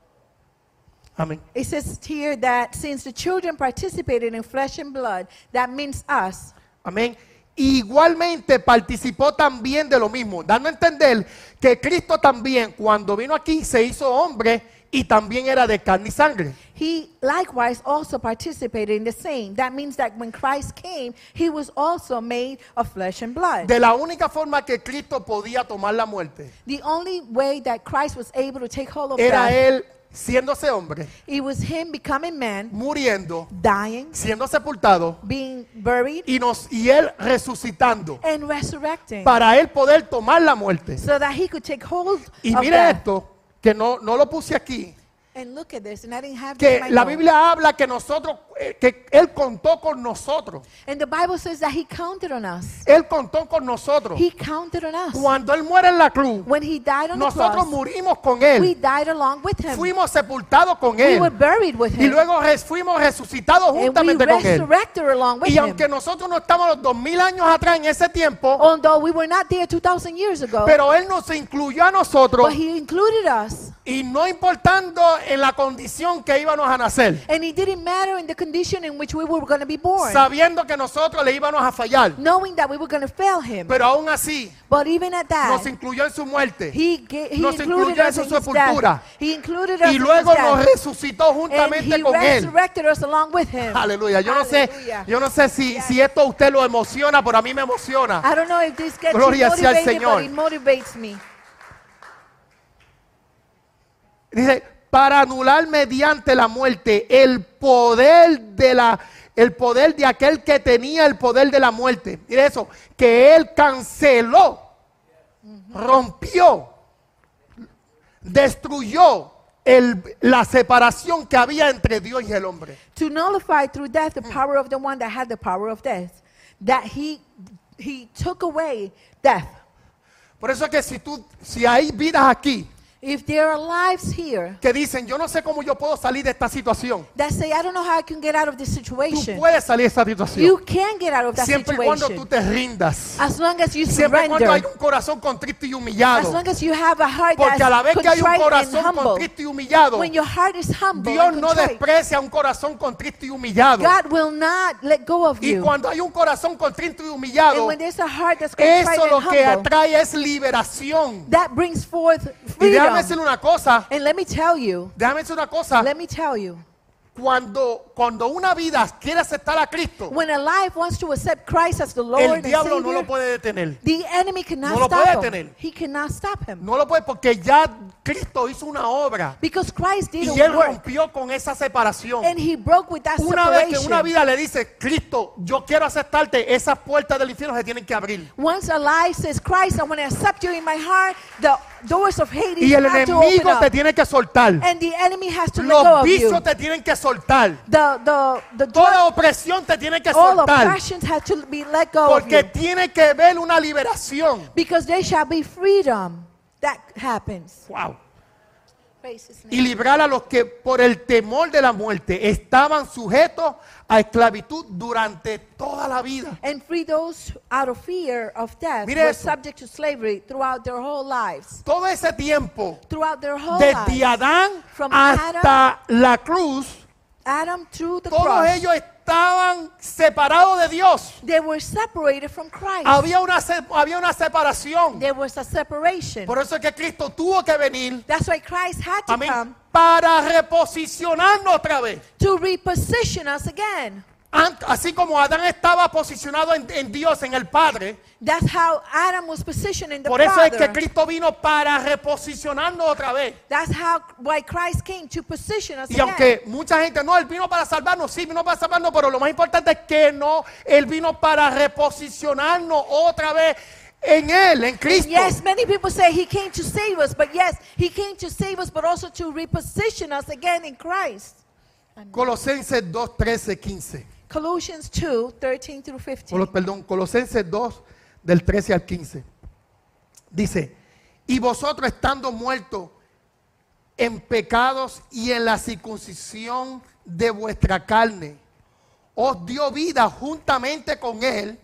amén. It says here that since the children participated in flesh and blood, that means us. Amén. Igualmente participó también de lo mismo, dando a entender que Cristo también cuando vino aquí se hizo hombre y también era de carne y sangre. He likewise also participated in the same. That means that when Christ came, he was also made of flesh and blood. De la única forma que Cristo podía tomar la muerte The only way that Christ was able to take hold of era death, Él siéndose hombre, it was him becoming man, muriendo, dying, siendo sepultado being buried, y, nos, y Él resucitando and resurrecting, para Él poder tomar la muerte. so that he could take hold Y of mire death. esto, que no, no lo puse aquí, And look at this, and I didn't have que this in my la notes. Biblia habla que nosotros, eh, que Él contó con nosotros. And the Bible says that he counted on us. Él contó con nosotros. He counted on us. Cuando Él muere en la cruz, When he died on the nosotros cross, murimos con we Él. died along with him. Fuimos sepultados con We were Él. buried with Y him. luego res- fuimos resucitados And we juntamente con Él. resurrected along with Y him. aunque nosotros no estamos los dos mil años atrás en ese tiempo, Although we were not there two thousand years ago, pero Él nos incluyó a nosotros but he included us Y no importando en la condición que íbamos a nacer, And it didn't matter in the condition in which we were going to be born, sabiendo que nosotros le íbamos a fallar, knowing that we were going to fail him. pero aún así But even at that, nos incluyó en su muerte he, ga- he nos included incluyó en us su in his sepultura. death. He included us y in luego his nos death. resucitó And juntamente he con él. resurrected us along with him. Aleluya. Yo no sé, Hallelujah. yo no sé si, si esto a usted lo emociona, pero a mí me emociona. I don't know if this gets you Gloria sea al motivated, Señor. but it motivates me. Dice, para anular mediante la muerte el poder de la el poder de aquel que tenía el poder de la muerte. Mire eso, que él canceló, rompió, destruyó el, la separación que había entre Dios y el hombre. To nullify through death the power of the one that had the power of death. That he he took away death. Por eso es que si tú, si hay vidas aquí If there are lives here que dicen, yo no sé cómo yo puedo salir de esta situación. that say, I don't know how I can get out of this Tú situation. puedes salir de esta situación. You can get out of that Siempre y cuando tú situation. te rindas. As long as you Siempre y cuando hay surrender. un corazón contrito y As humillado. long as you have a heart Porque a la vez that's que hay un contrite and corazón humble. contrito y humillado, When your heart is humble Dios and no contrite, desprecia un corazón contrito y humillado. God will not let go of Y you. cuando hay un corazón contrito y And humillado, when there's a heart that's contrite eso lo and que humble, atrae es liberación. that brings forth Y déjame decirle freedom. una cosa, And let me tell you, déjame decirle una cosa, let me tell you, cuando, cuando una vida quiere aceptar a Cristo, when a life wants to accept Christ as the Lord el and diablo no lo Savior, puede detener. the enemy cannot No lo stop puede him. detener. He cannot stop him. No lo puede porque ya Cristo hizo una obra Because Christ did y Él a work rompió con esa separación. and he broke with that Una vez que separation. una vida le dice, Cristo, yo quiero aceptarte, esas puertas del infierno se tienen que abrir. Once a life says, Christ, I want to accept you in my heart, the doors of Hades Y el have to open enemigo te up. tiene que soltar. And the enemy has to let go Los of you. vicios te tienen que soltar. The, the, the Toda drug, opresión te tiene que all soltar. oppressions have to be let go of Porque you. tiene que ver una liberación. Because there shall be freedom. That happens. Wow. Praise his Y name. librar a los que por el temor de la muerte estaban sujetos a esclavitud durante toda la vida. And free those out of fear of death Mire were eso. subject to slavery throughout their whole lives. Todo ese tiempo, Throughout their whole desde lives. Adán From hasta la cruz, Adam through the todos cross. ellos estaban separados de Dios. They were separated from Christ. Había una, se- había una separación. There was a separation. Por eso es que Cristo tuvo que venir, That's why Christ had to amén, come para reposicionarnos otra vez. to reposition us again. Ant- Así como Adán estaba posicionado en, en Dios, en el Padre, That's how Adam was positioned in the por eso es que Father. Cristo vino para reposicionarnos otra vez. That's how why Christ came to position us Y again. aunque mucha gente, no, Él vino para salvarnos, sí, vino para salvarnos, pero lo más importante es que no, Él vino para reposicionarnos otra vez en Él, en Cristo. Yes, many people say he came to save us, but yes, he came to save us, but also to reposition us again in Christ. Colosenses dos, trece, quince. Colossians two, thirteen through fifteen. Colo- Perdón, Colosenses dos, del trece al quince. Dice, y vosotros estando muertos en pecados y en la circuncisión de vuestra carne, os dio vida juntamente con Él,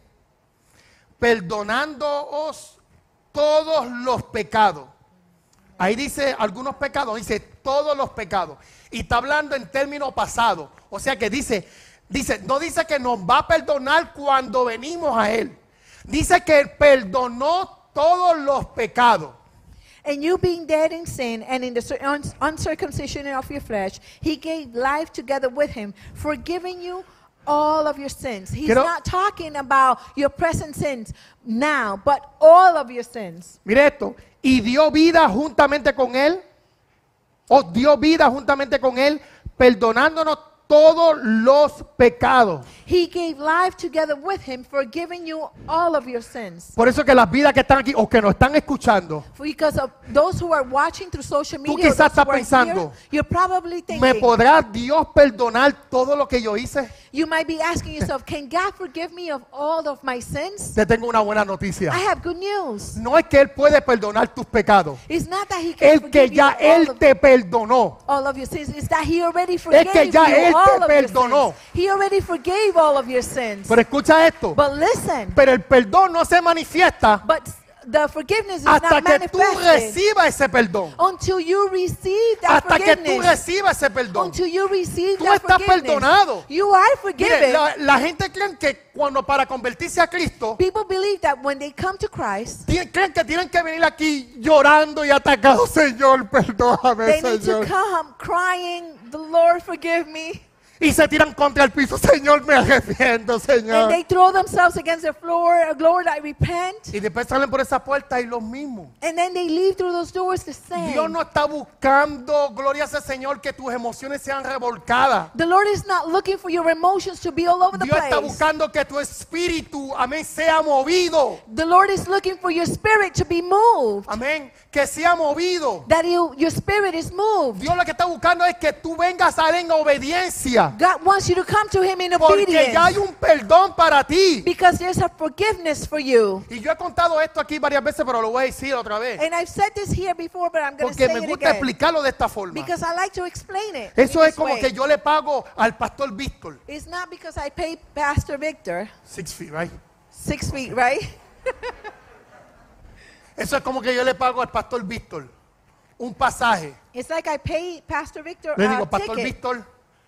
perdonándoos todos los pecados. Ahí dice algunos pecados, dice todos los pecados. Y está hablando en términos pasados. O sea que dice, dice, no dice que nos va a perdonar cuando venimos a Él. Dice que Él perdonó todos los pecados. And you being dead in sin and in the cir- uns- uncircumcision of your flesh, he gave life together with him, forgiving you all of your sins. He's Quiero- not talking about your present sins now, but all of your sins. Mire esto. Y dio vida juntamente con Él. Os dio vida juntamente con Él, perdonándonos todos los pecados. He gave life together with him, forgiving you all of your sins. Por eso que las vidas que están aquí o que nos están escuchando, Because of those who are watching through social media, or quizás those estás who are pensando, here, you're probably ¿me thinking, podrá Dios perdonar todo lo que yo hice? you might be asking yourself, can God forgive me of all of my sins? Te tengo una buena noticia. I have good news. No es que Él puede perdonar tus pecados. It's not that he can El que forgive ya you all Él of, te perdonó. all of your sins. It's that he already forgave que ya you Él te all of perdonó. your sins. He already forgave all of your sins. Pero escucha esto. But listen, Pero el perdón no se manifiesta but the forgiveness is hasta not que tú manifested recibas ese perdón. until you receive that Hasta que tú forgiveness. recibas ese perdón. Until you receive Tú that estás forgiveness. perdonado. You are Mire, forgiven. la, la gente cree que cuando para convertirse a Cristo, People believe that when they come to Christ, Tien- creen que tienen que venir aquí llorando y atacados. Señor, perdóname, they need to Señor. come crying, the Lord forgive me. Y se tiran contra el piso. Señor, me arrepiento, And Señor. they throw themselves against the floor. Lord, I repent. Y después salen por esa puerta y los mismos. And then they leave through those doors the same. Dios no está buscando, gloria a ese Señor, que tus emociones sean revolcadas. The Lord is not looking for your emotions to be all over the Dios está place. buscando que tu espíritu, amén, sea movido. The Lord is looking for your spirit to be moved. Amén, que sea movido. That you, your spirit is moved. Dios lo que está buscando es que tú vengas a él en obediencia. God wants you to come to Him in Porque obedience. ya hay un perdón para ti. Because there's a forgiveness for you. Y yo he contado esto aquí varias veces, pero lo voy a decir otra vez. And I've said this here before, but I'm going to Porque say me it gusta again. explicarlo de esta forma. Because I like to explain it. Eso in es this como way. que yo le pago al pastor Víctor. It's not because I pay Pastor Victor Six feet, right? six feet, right? Eso es como que yo le pago al pastor Víctor un pasaje. It's like I pay Pastor Victor Le a digo, pastor ticket. Víctor,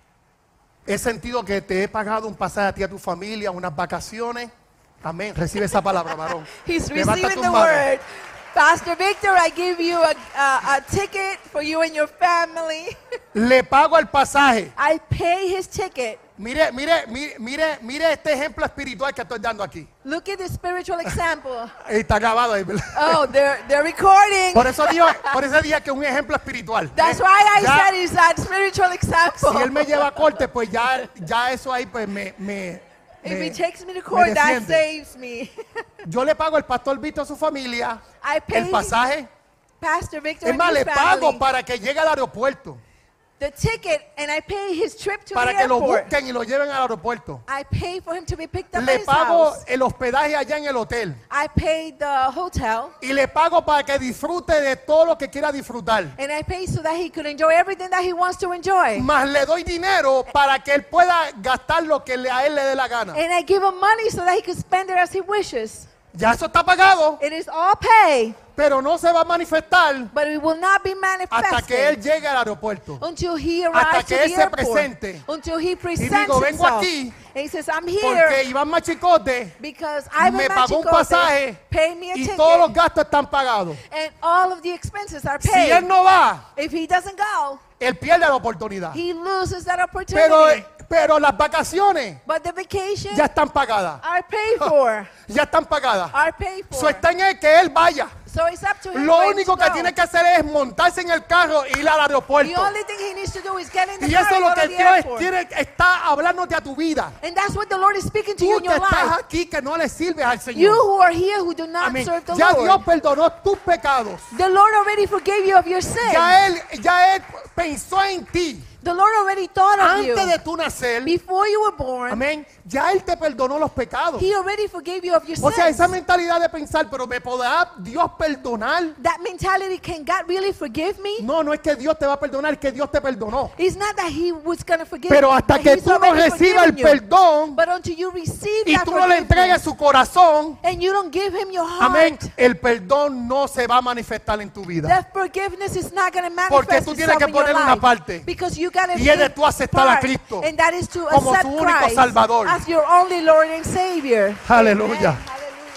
he sentido que te he pagado un pasaje a ti y a tu familia, unas vacaciones. Amén. Recibe esa palabra, varón. He's Levanta receiving tus the manos. word. Pastor Victor, I give you a, a, a ticket for you and your family. Le pago el pasaje. I pay his ticket. Mire, mire, mire, mire, mire este ejemplo espiritual que estoy dando aquí. Look at the spiritual example. Está grabado ahí, ¿verdad? Oh, they're, they're recording. Por eso digo, por eso dije que es un ejemplo espiritual. That's Eh, why I ya, said it's that spiritual example. si él me lleva a corte, pues ya, ya eso ahí pues me, me, If me- he takes me to me court, that defiende. saves me. Yo le pago al pastor Víctor a su familia I pay el pasaje. Pastor Victor Es and más, his le pago family para que llegue al aeropuerto, the ticket, and I pay his trip to para the que lo airport. busquen y lo lleven al aeropuerto. I pay for him to be picked up at Le his pago house. el hospedaje allá en el hotel. I pay the hotel, Y le pago para que disfrute de todo lo que quiera disfrutar. and I pay so that he could enjoy everything that he wants to enjoy. Más le doy dinero para que él pueda gastar lo que le- a él le dé la gana. And I give him money so that he could spend it as he wishes. Ya eso está pagado, It is all pay, pero no se va a manifestar but it will not be hasta que él manifested llegue al aeropuerto. until he hasta arrives que to él the se airport. presente. Until he presents digo, vengo himself. aquí And he says, I'm Porque here Iván Machicote because Ivan me pagó un Machicote pasaje paid me a y ticket, todos los gastos están pagados. and all of the expenses are Si paid. él no va, If he doesn't go, él pierde la oportunidad. he loses that opportunity. Pero, pero las vacaciones But the vacation ya están pagadas. are paid for. Ya están pagadas. Are paid for. Eso está en él que él vaya. So it's up to him Lo where único to que go. tiene que hacer es montarse en el carro e ir al The aeropuerto. only thing he needs to do is get in the Y car eso es and lo go que to the Dios airport. tiene, está hablándote a tu vida. And that's what the Lord is speaking to you Tú in que your estás life. aquí que no le sirves al You Señor. who are here who do not Amén. serve the Ya Lord. Dios perdonó tus pecados. The Lord already forgave you of your sin. Ya él, ya él pensó en ti The Lord already thought of you. antes de tu nacer. Before you were born, Amén. Ya él te perdonó los pecados. He already forgave you of your O sea, sins. esa mentalidad de pensar, pero ¿me podrá Dios perdonar? That mentality, can God really forgive me? No, no es que Dios te va a perdonar, es que Dios te perdonó. It's not that He was going to forgive Pero you, hasta but que He's tú no already recibas el forgiven you. perdón But until you receive y that tú no le entregues forgiveness su corazón, and you don't give Him your amén, heart, el perdón no se va a manifestar en tu vida. that forgiveness is not going to Porque manifest tú tienes itself que in your poner una life. parte. Because you got to Y es de tú aceptar a Cristo and that is to como accept tu único Christ Salvador. as your only Lord and Savior. Aleluya. Amen.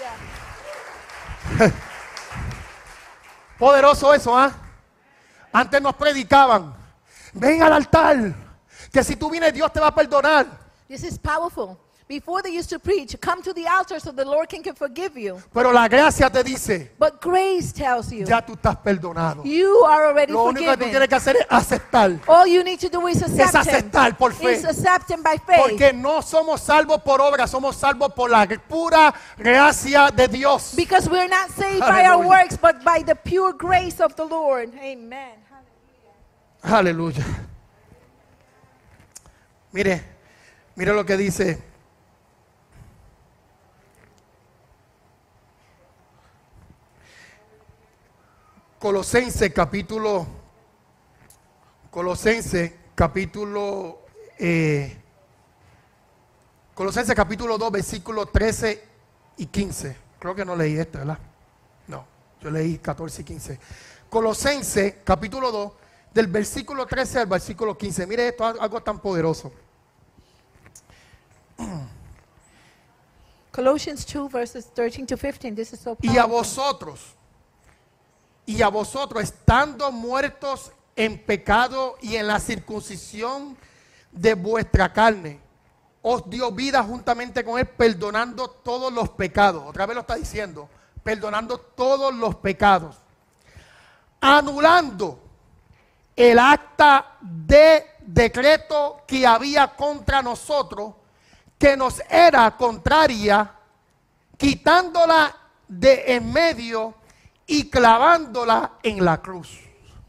Hallelujah. Poderoso eso, ¿ah? Antes nos predicaban, ven al altar, que si tú vienes Dios te va a perdonar. This is powerful. Before they used to preach, come to the altar so the Lord can, can forgive you. Pero la gracia te dice, But grace tells you, ya tú estás perdonado. you are already Lo único que tú forgiven. tienes que hacer es aceptar. All you need to do is accept Es aceptar Him. por fe. Is accept Him by faith. Porque no somos salvos por obra, somos salvos por la pura gracia de Dios. Because we're not saved by our Hallelujah. works, but by the pure grace of the Lord. Amen. Aleluya. Mire, mire lo que dice. Colosenses capítulo, Colosenses capítulo, eh, Colosenses capítulo dos, versículos trece y quince. Creo que no leí esto, ¿verdad? No. Yo leí catorce y quince. Colosenses capítulo dos, del versículo trece al versículo quince. Mire esto, algo tan poderoso. Colossians two, verses thirteen to fifteen. This is so powerful. Y a vosotros, y a vosotros, estando muertos en pecado y en la circuncisión de vuestra carne, os dio vida juntamente con él, perdonando todos los pecados. Otra vez lo está diciendo, perdonando todos los pecados, anulando el acta de decreto que había contra nosotros, que nos era contraria, quitándola de en medio y clavándola en la cruz.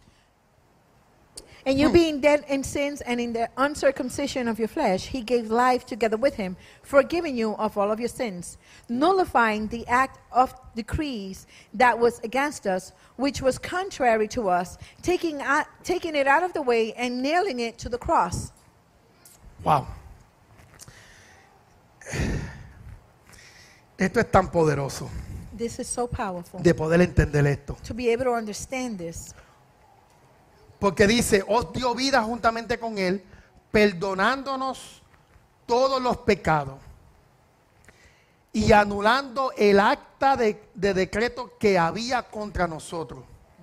And you being dead in sins and in the uncircumcision of your flesh, he gave life together with him, forgiving you of all of your sins, nullifying the act of decrees that was against us, which was contrary to us, taking, out, taking it out of the way and nailing it to the cross. Wow. Esto es tan poderoso This is so powerful de poder entender esto. to be able to understand this. Porque dice, os dio vida juntamente con él, perdonándonos todos los pecados y anulando el acta de, de decreto que había contra nosotros.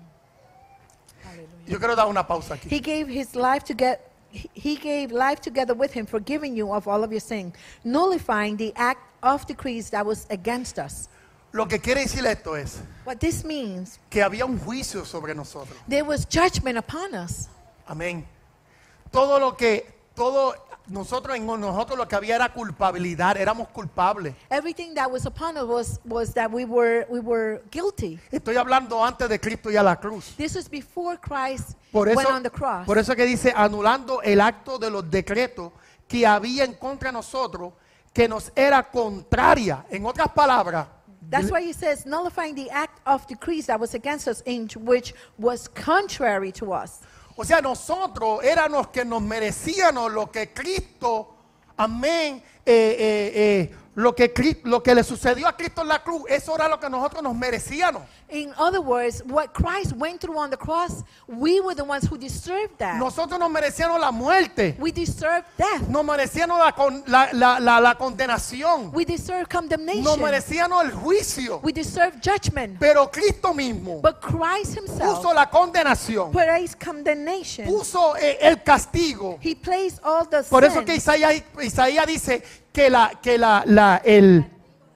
Yo quiero dar una pausa aquí. He gave his life to get he- he gave life together with him, forgiving you of all of your sin, nullifying the act of decrees that was against us. Lo que quiere decir esto es What this means, que había un juicio sobre nosotros. there was judgment upon us. Amén. Todo lo que, todo, nosotros en nosotros lo que había era culpabilidad, éramos culpables. Everything that was upon us was, was that we were we were guilty. Estoy hablando antes de Cristo y a la cruz. This was before Christ Por eso, went on the cross. por eso que dice, anulando el acto de los decretos que había en contra de nosotros, que nos era contraria. En otras palabras, That's why he says, nullifying the act of decrees that was against us, in which was contrary to us. o sea, nosotros éramos que nos merecíamos lo que Cristo, amén, eh, eh, eh, lo, que, Cri- lo que le sucedió a Cristo en la cruz, eso era lo que nosotros nos merecíamos. In other words, what Christ went through on the cross, we were the ones who deserved that. Nosotros nos merecíamos la muerte, We deserved death. nos merecíamos la, con- la, la, la, la condenación, We deserve nos condemnation. merecíamos el juicio, We deserve judgment. pero Cristo mismo But Christ himself puso la condenación, placed condemnation. puso eh, el castigo. He placed all the Por eso sin. que Isaías, Isaías dice que, la, que la, la, el,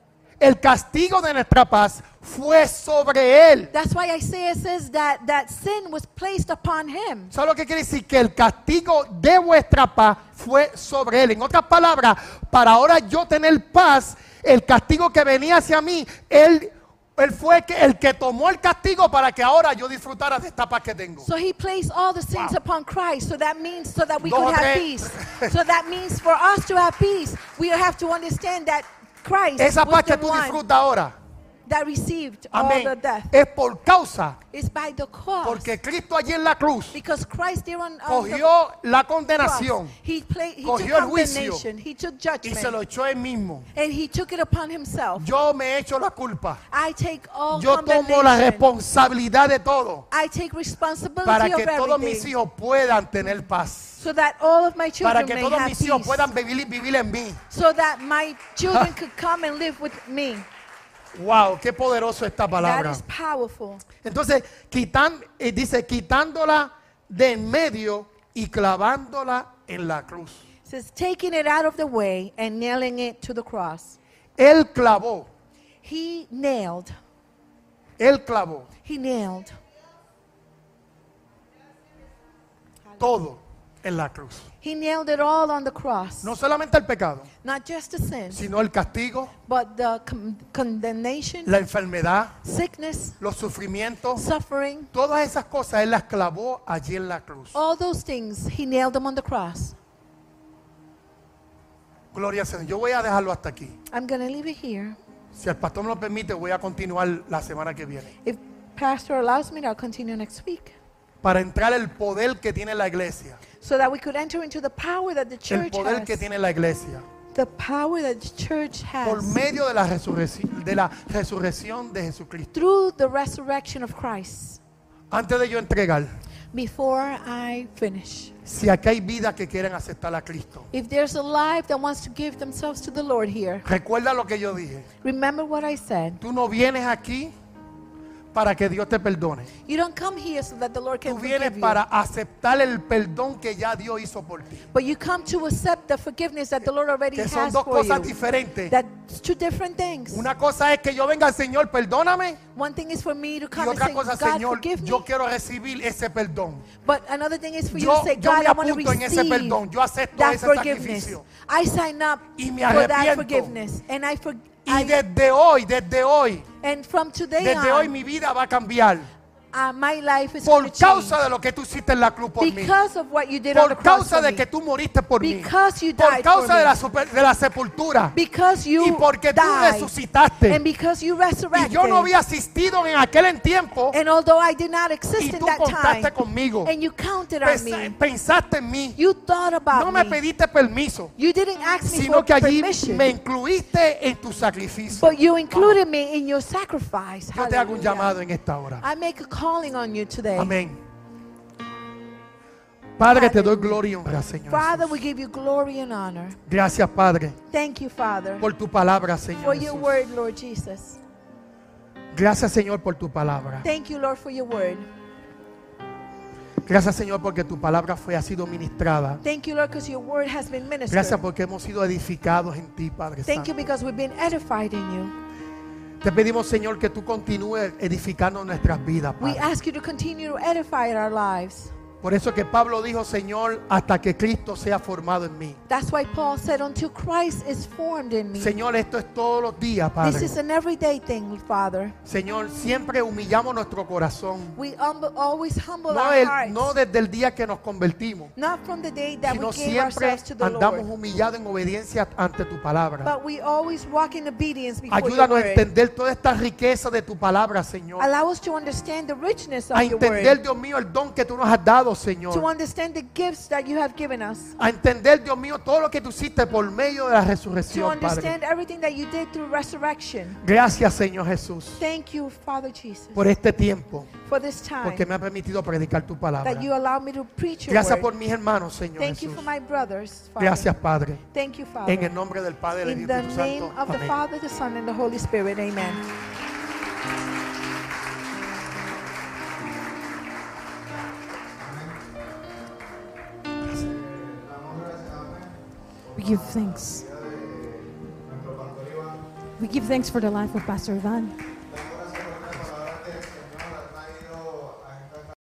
el castigo de nuestra paz fue sobre él. That's why Isaiah says that, that sin was placed upon him. ¿Sabe lo que quiere decir? Que el castigo de vuestra paz fue sobre él. En otras palabras, para ahora yo tener paz, el castigo que venía hacia mí, él, él fue que, el que tomó el castigo para que ahora yo disfrutara de esta paz que tengo. So he placed all the sins Wow. upon Christ. So that means so that we Dos could o have tres. peace. So that means for us to have peace, we have to understand that Christ Esa was paz que the tú one disfrutas ahora, that received all amén, the death. es por causa, It's by the cross. porque Cristo allí en la cruz Because Christ there on, on the cogió la cross, condenación he, play, he cogió took el juicio condemnation, he took y se lo judgment, echó él mismo. and he took it upon himself. Yo me echo la culpa. I take all Yo tomo la condemnation. responsabilidad de todo I take responsibility para of que todos mis everything, hijos puedan tener paz. so that all of my Para children que may todos have mis hijos peace, puedan vivir, vivir en mí. so that my children could come and live with me. Wow, qué poderoso esta That palabra. is powerful. Entonces, quitan, eh, dice, quitándola de en medio y clavándola en la cruz. It says, taking it out of the way and nailing it to the cross. Él clavó, He nailed. él clavó He nailed todo en la cruz. He nailed it all on the cross. No solamente el pecado, Not just the sin, sino el castigo, but the con- condemnation, la enfermedad, sickness, los sufrimientos. suffering, Todas esas cosas Él las clavó allí en la cruz. all those things, he nailed them on the cross. Gloria al Señor. Yo voy a dejarlo hasta aquí. I'm going to leave it here. Si el pastor me lo permite, voy a continuar la semana que viene. If Pastor allows me, I'll continue next week. Para entrar el poder que tiene la iglesia. So that we could enter into the power that the El church poder que has. tiene la iglesia. the power that the church por has medio de la resurrección, de la resurrección de Jesucristo. through the resurrection of Christ. Antes de yo entregar, Before I finish, si aquí hay vidas que quieren aceptar a Cristo, if there's a life that wants to give themselves to the Lord here, recuerda lo que yo dije. remember what I said. Tú no vienes aquí para que Dios te perdone. You don't come here so that the Lord can Tú vienes forgive you, para aceptar el perdón que ya Dios hizo por ti. but you come to accept the forgiveness that the Lord already Que son has dos for cosas you. diferentes. That's two different things. Una cosa es que yo venga al Señor, perdóname. One thing is for me to Y come and otra say, cosa, God, Señor, forgive me. yo quiero recibir ese perdón. But another thing is for you Yo, to say, yo God, me I want to apunto en ese receive perdón. Yo acepto that ese forgiveness. sacrificio. I sign up Y me for that arrepiento. forgiveness. And I for, Y I- desde hoy, desde hoy, and from today desde hoy on, mi vida va a cambiar. uh, my life is Por going to change. causa de lo que tú hiciste en la cruz por mí. Because of what you did on the Por cross causa for de me. que tú moriste por mí. Because you Por died causa for de la, me. super- de la sepultura. Because you Y porque tú died. resucitaste. And because you Y resurrected. yo no había asistido en aquel tiempo. And although I did not exist Y in tú that contaste time, conmigo. and you counted on Pensa- me, Pensaste en mí. you thought about No me me. pediste permiso, You didn't ask me sino for que allí permission. me incluiste en tu sacrificio. But you included me in your sacrifice. Yo te hago un Hallelujah. llamado en esta hora. I make a calling on you today. Amén. Padre, te doy gloria y honra, Señor. Father, Jesús. we give you glory and honor. Gracias, Padre, Thank you, Father, por tu palabra, for Señor. your Jesús. word, Lord Jesus. Gracias, Señor, por tu palabra. Thank you, Lord, for your word. Gracias, Señor, porque tu palabra fue, ha sido ministrada. Thank you, Lord, because your word has been ministered. Gracias porque hemos sido edificados en ti, Padre Thank Santo. you because we've been edified in you. Te pedimos, Señor, que tú continúes edificando nuestras vidas, We Padre. ask you to continue to edify our lives. Por eso que Pablo dijo, Señor, hasta que Cristo sea formado en mí. That's why Paul said, until Christ is formed in me. Señor, esto es todos los días, This Padre. is an everyday thing, Father. Señor, siempre humillamos nuestro corazón. We humble, always humble No, our el- hearts. no desde el día que nos convertimos, Not from the day that sino we gave siempre ourselves to the andamos Lord. humillados en obediencia ante tu palabra. But we always walk in obedience before your Ayúdanos a word. entender toda esta riqueza de tu palabra, Señor. Allow us to understand the richness of A your entender, word. Dios mío, el don que tú nos has dado, To Señor. understand the gifts that you have given us. A entender, Dios mío, todo lo que tú hiciste por medio de la To resurrección, Padre. understand everything that you did through resurrection. Gracias, Señor Jesús, Thank you, Father Jesus, por este tiempo, for this time porque me ha permitido predicar tu palabra. that you allow me to preach your Gracias word. por mis hermanos, Señor Thank you Jesús. for my brothers, Father. Gracias, Padre. Thank you, Father. En el nombre del Padre, del In the Espíritu name Santo. of the Amén. Father, the Son, and the Holy Spirit. Amen. We give thanks. We give thanks for the life of Pastor Ivan.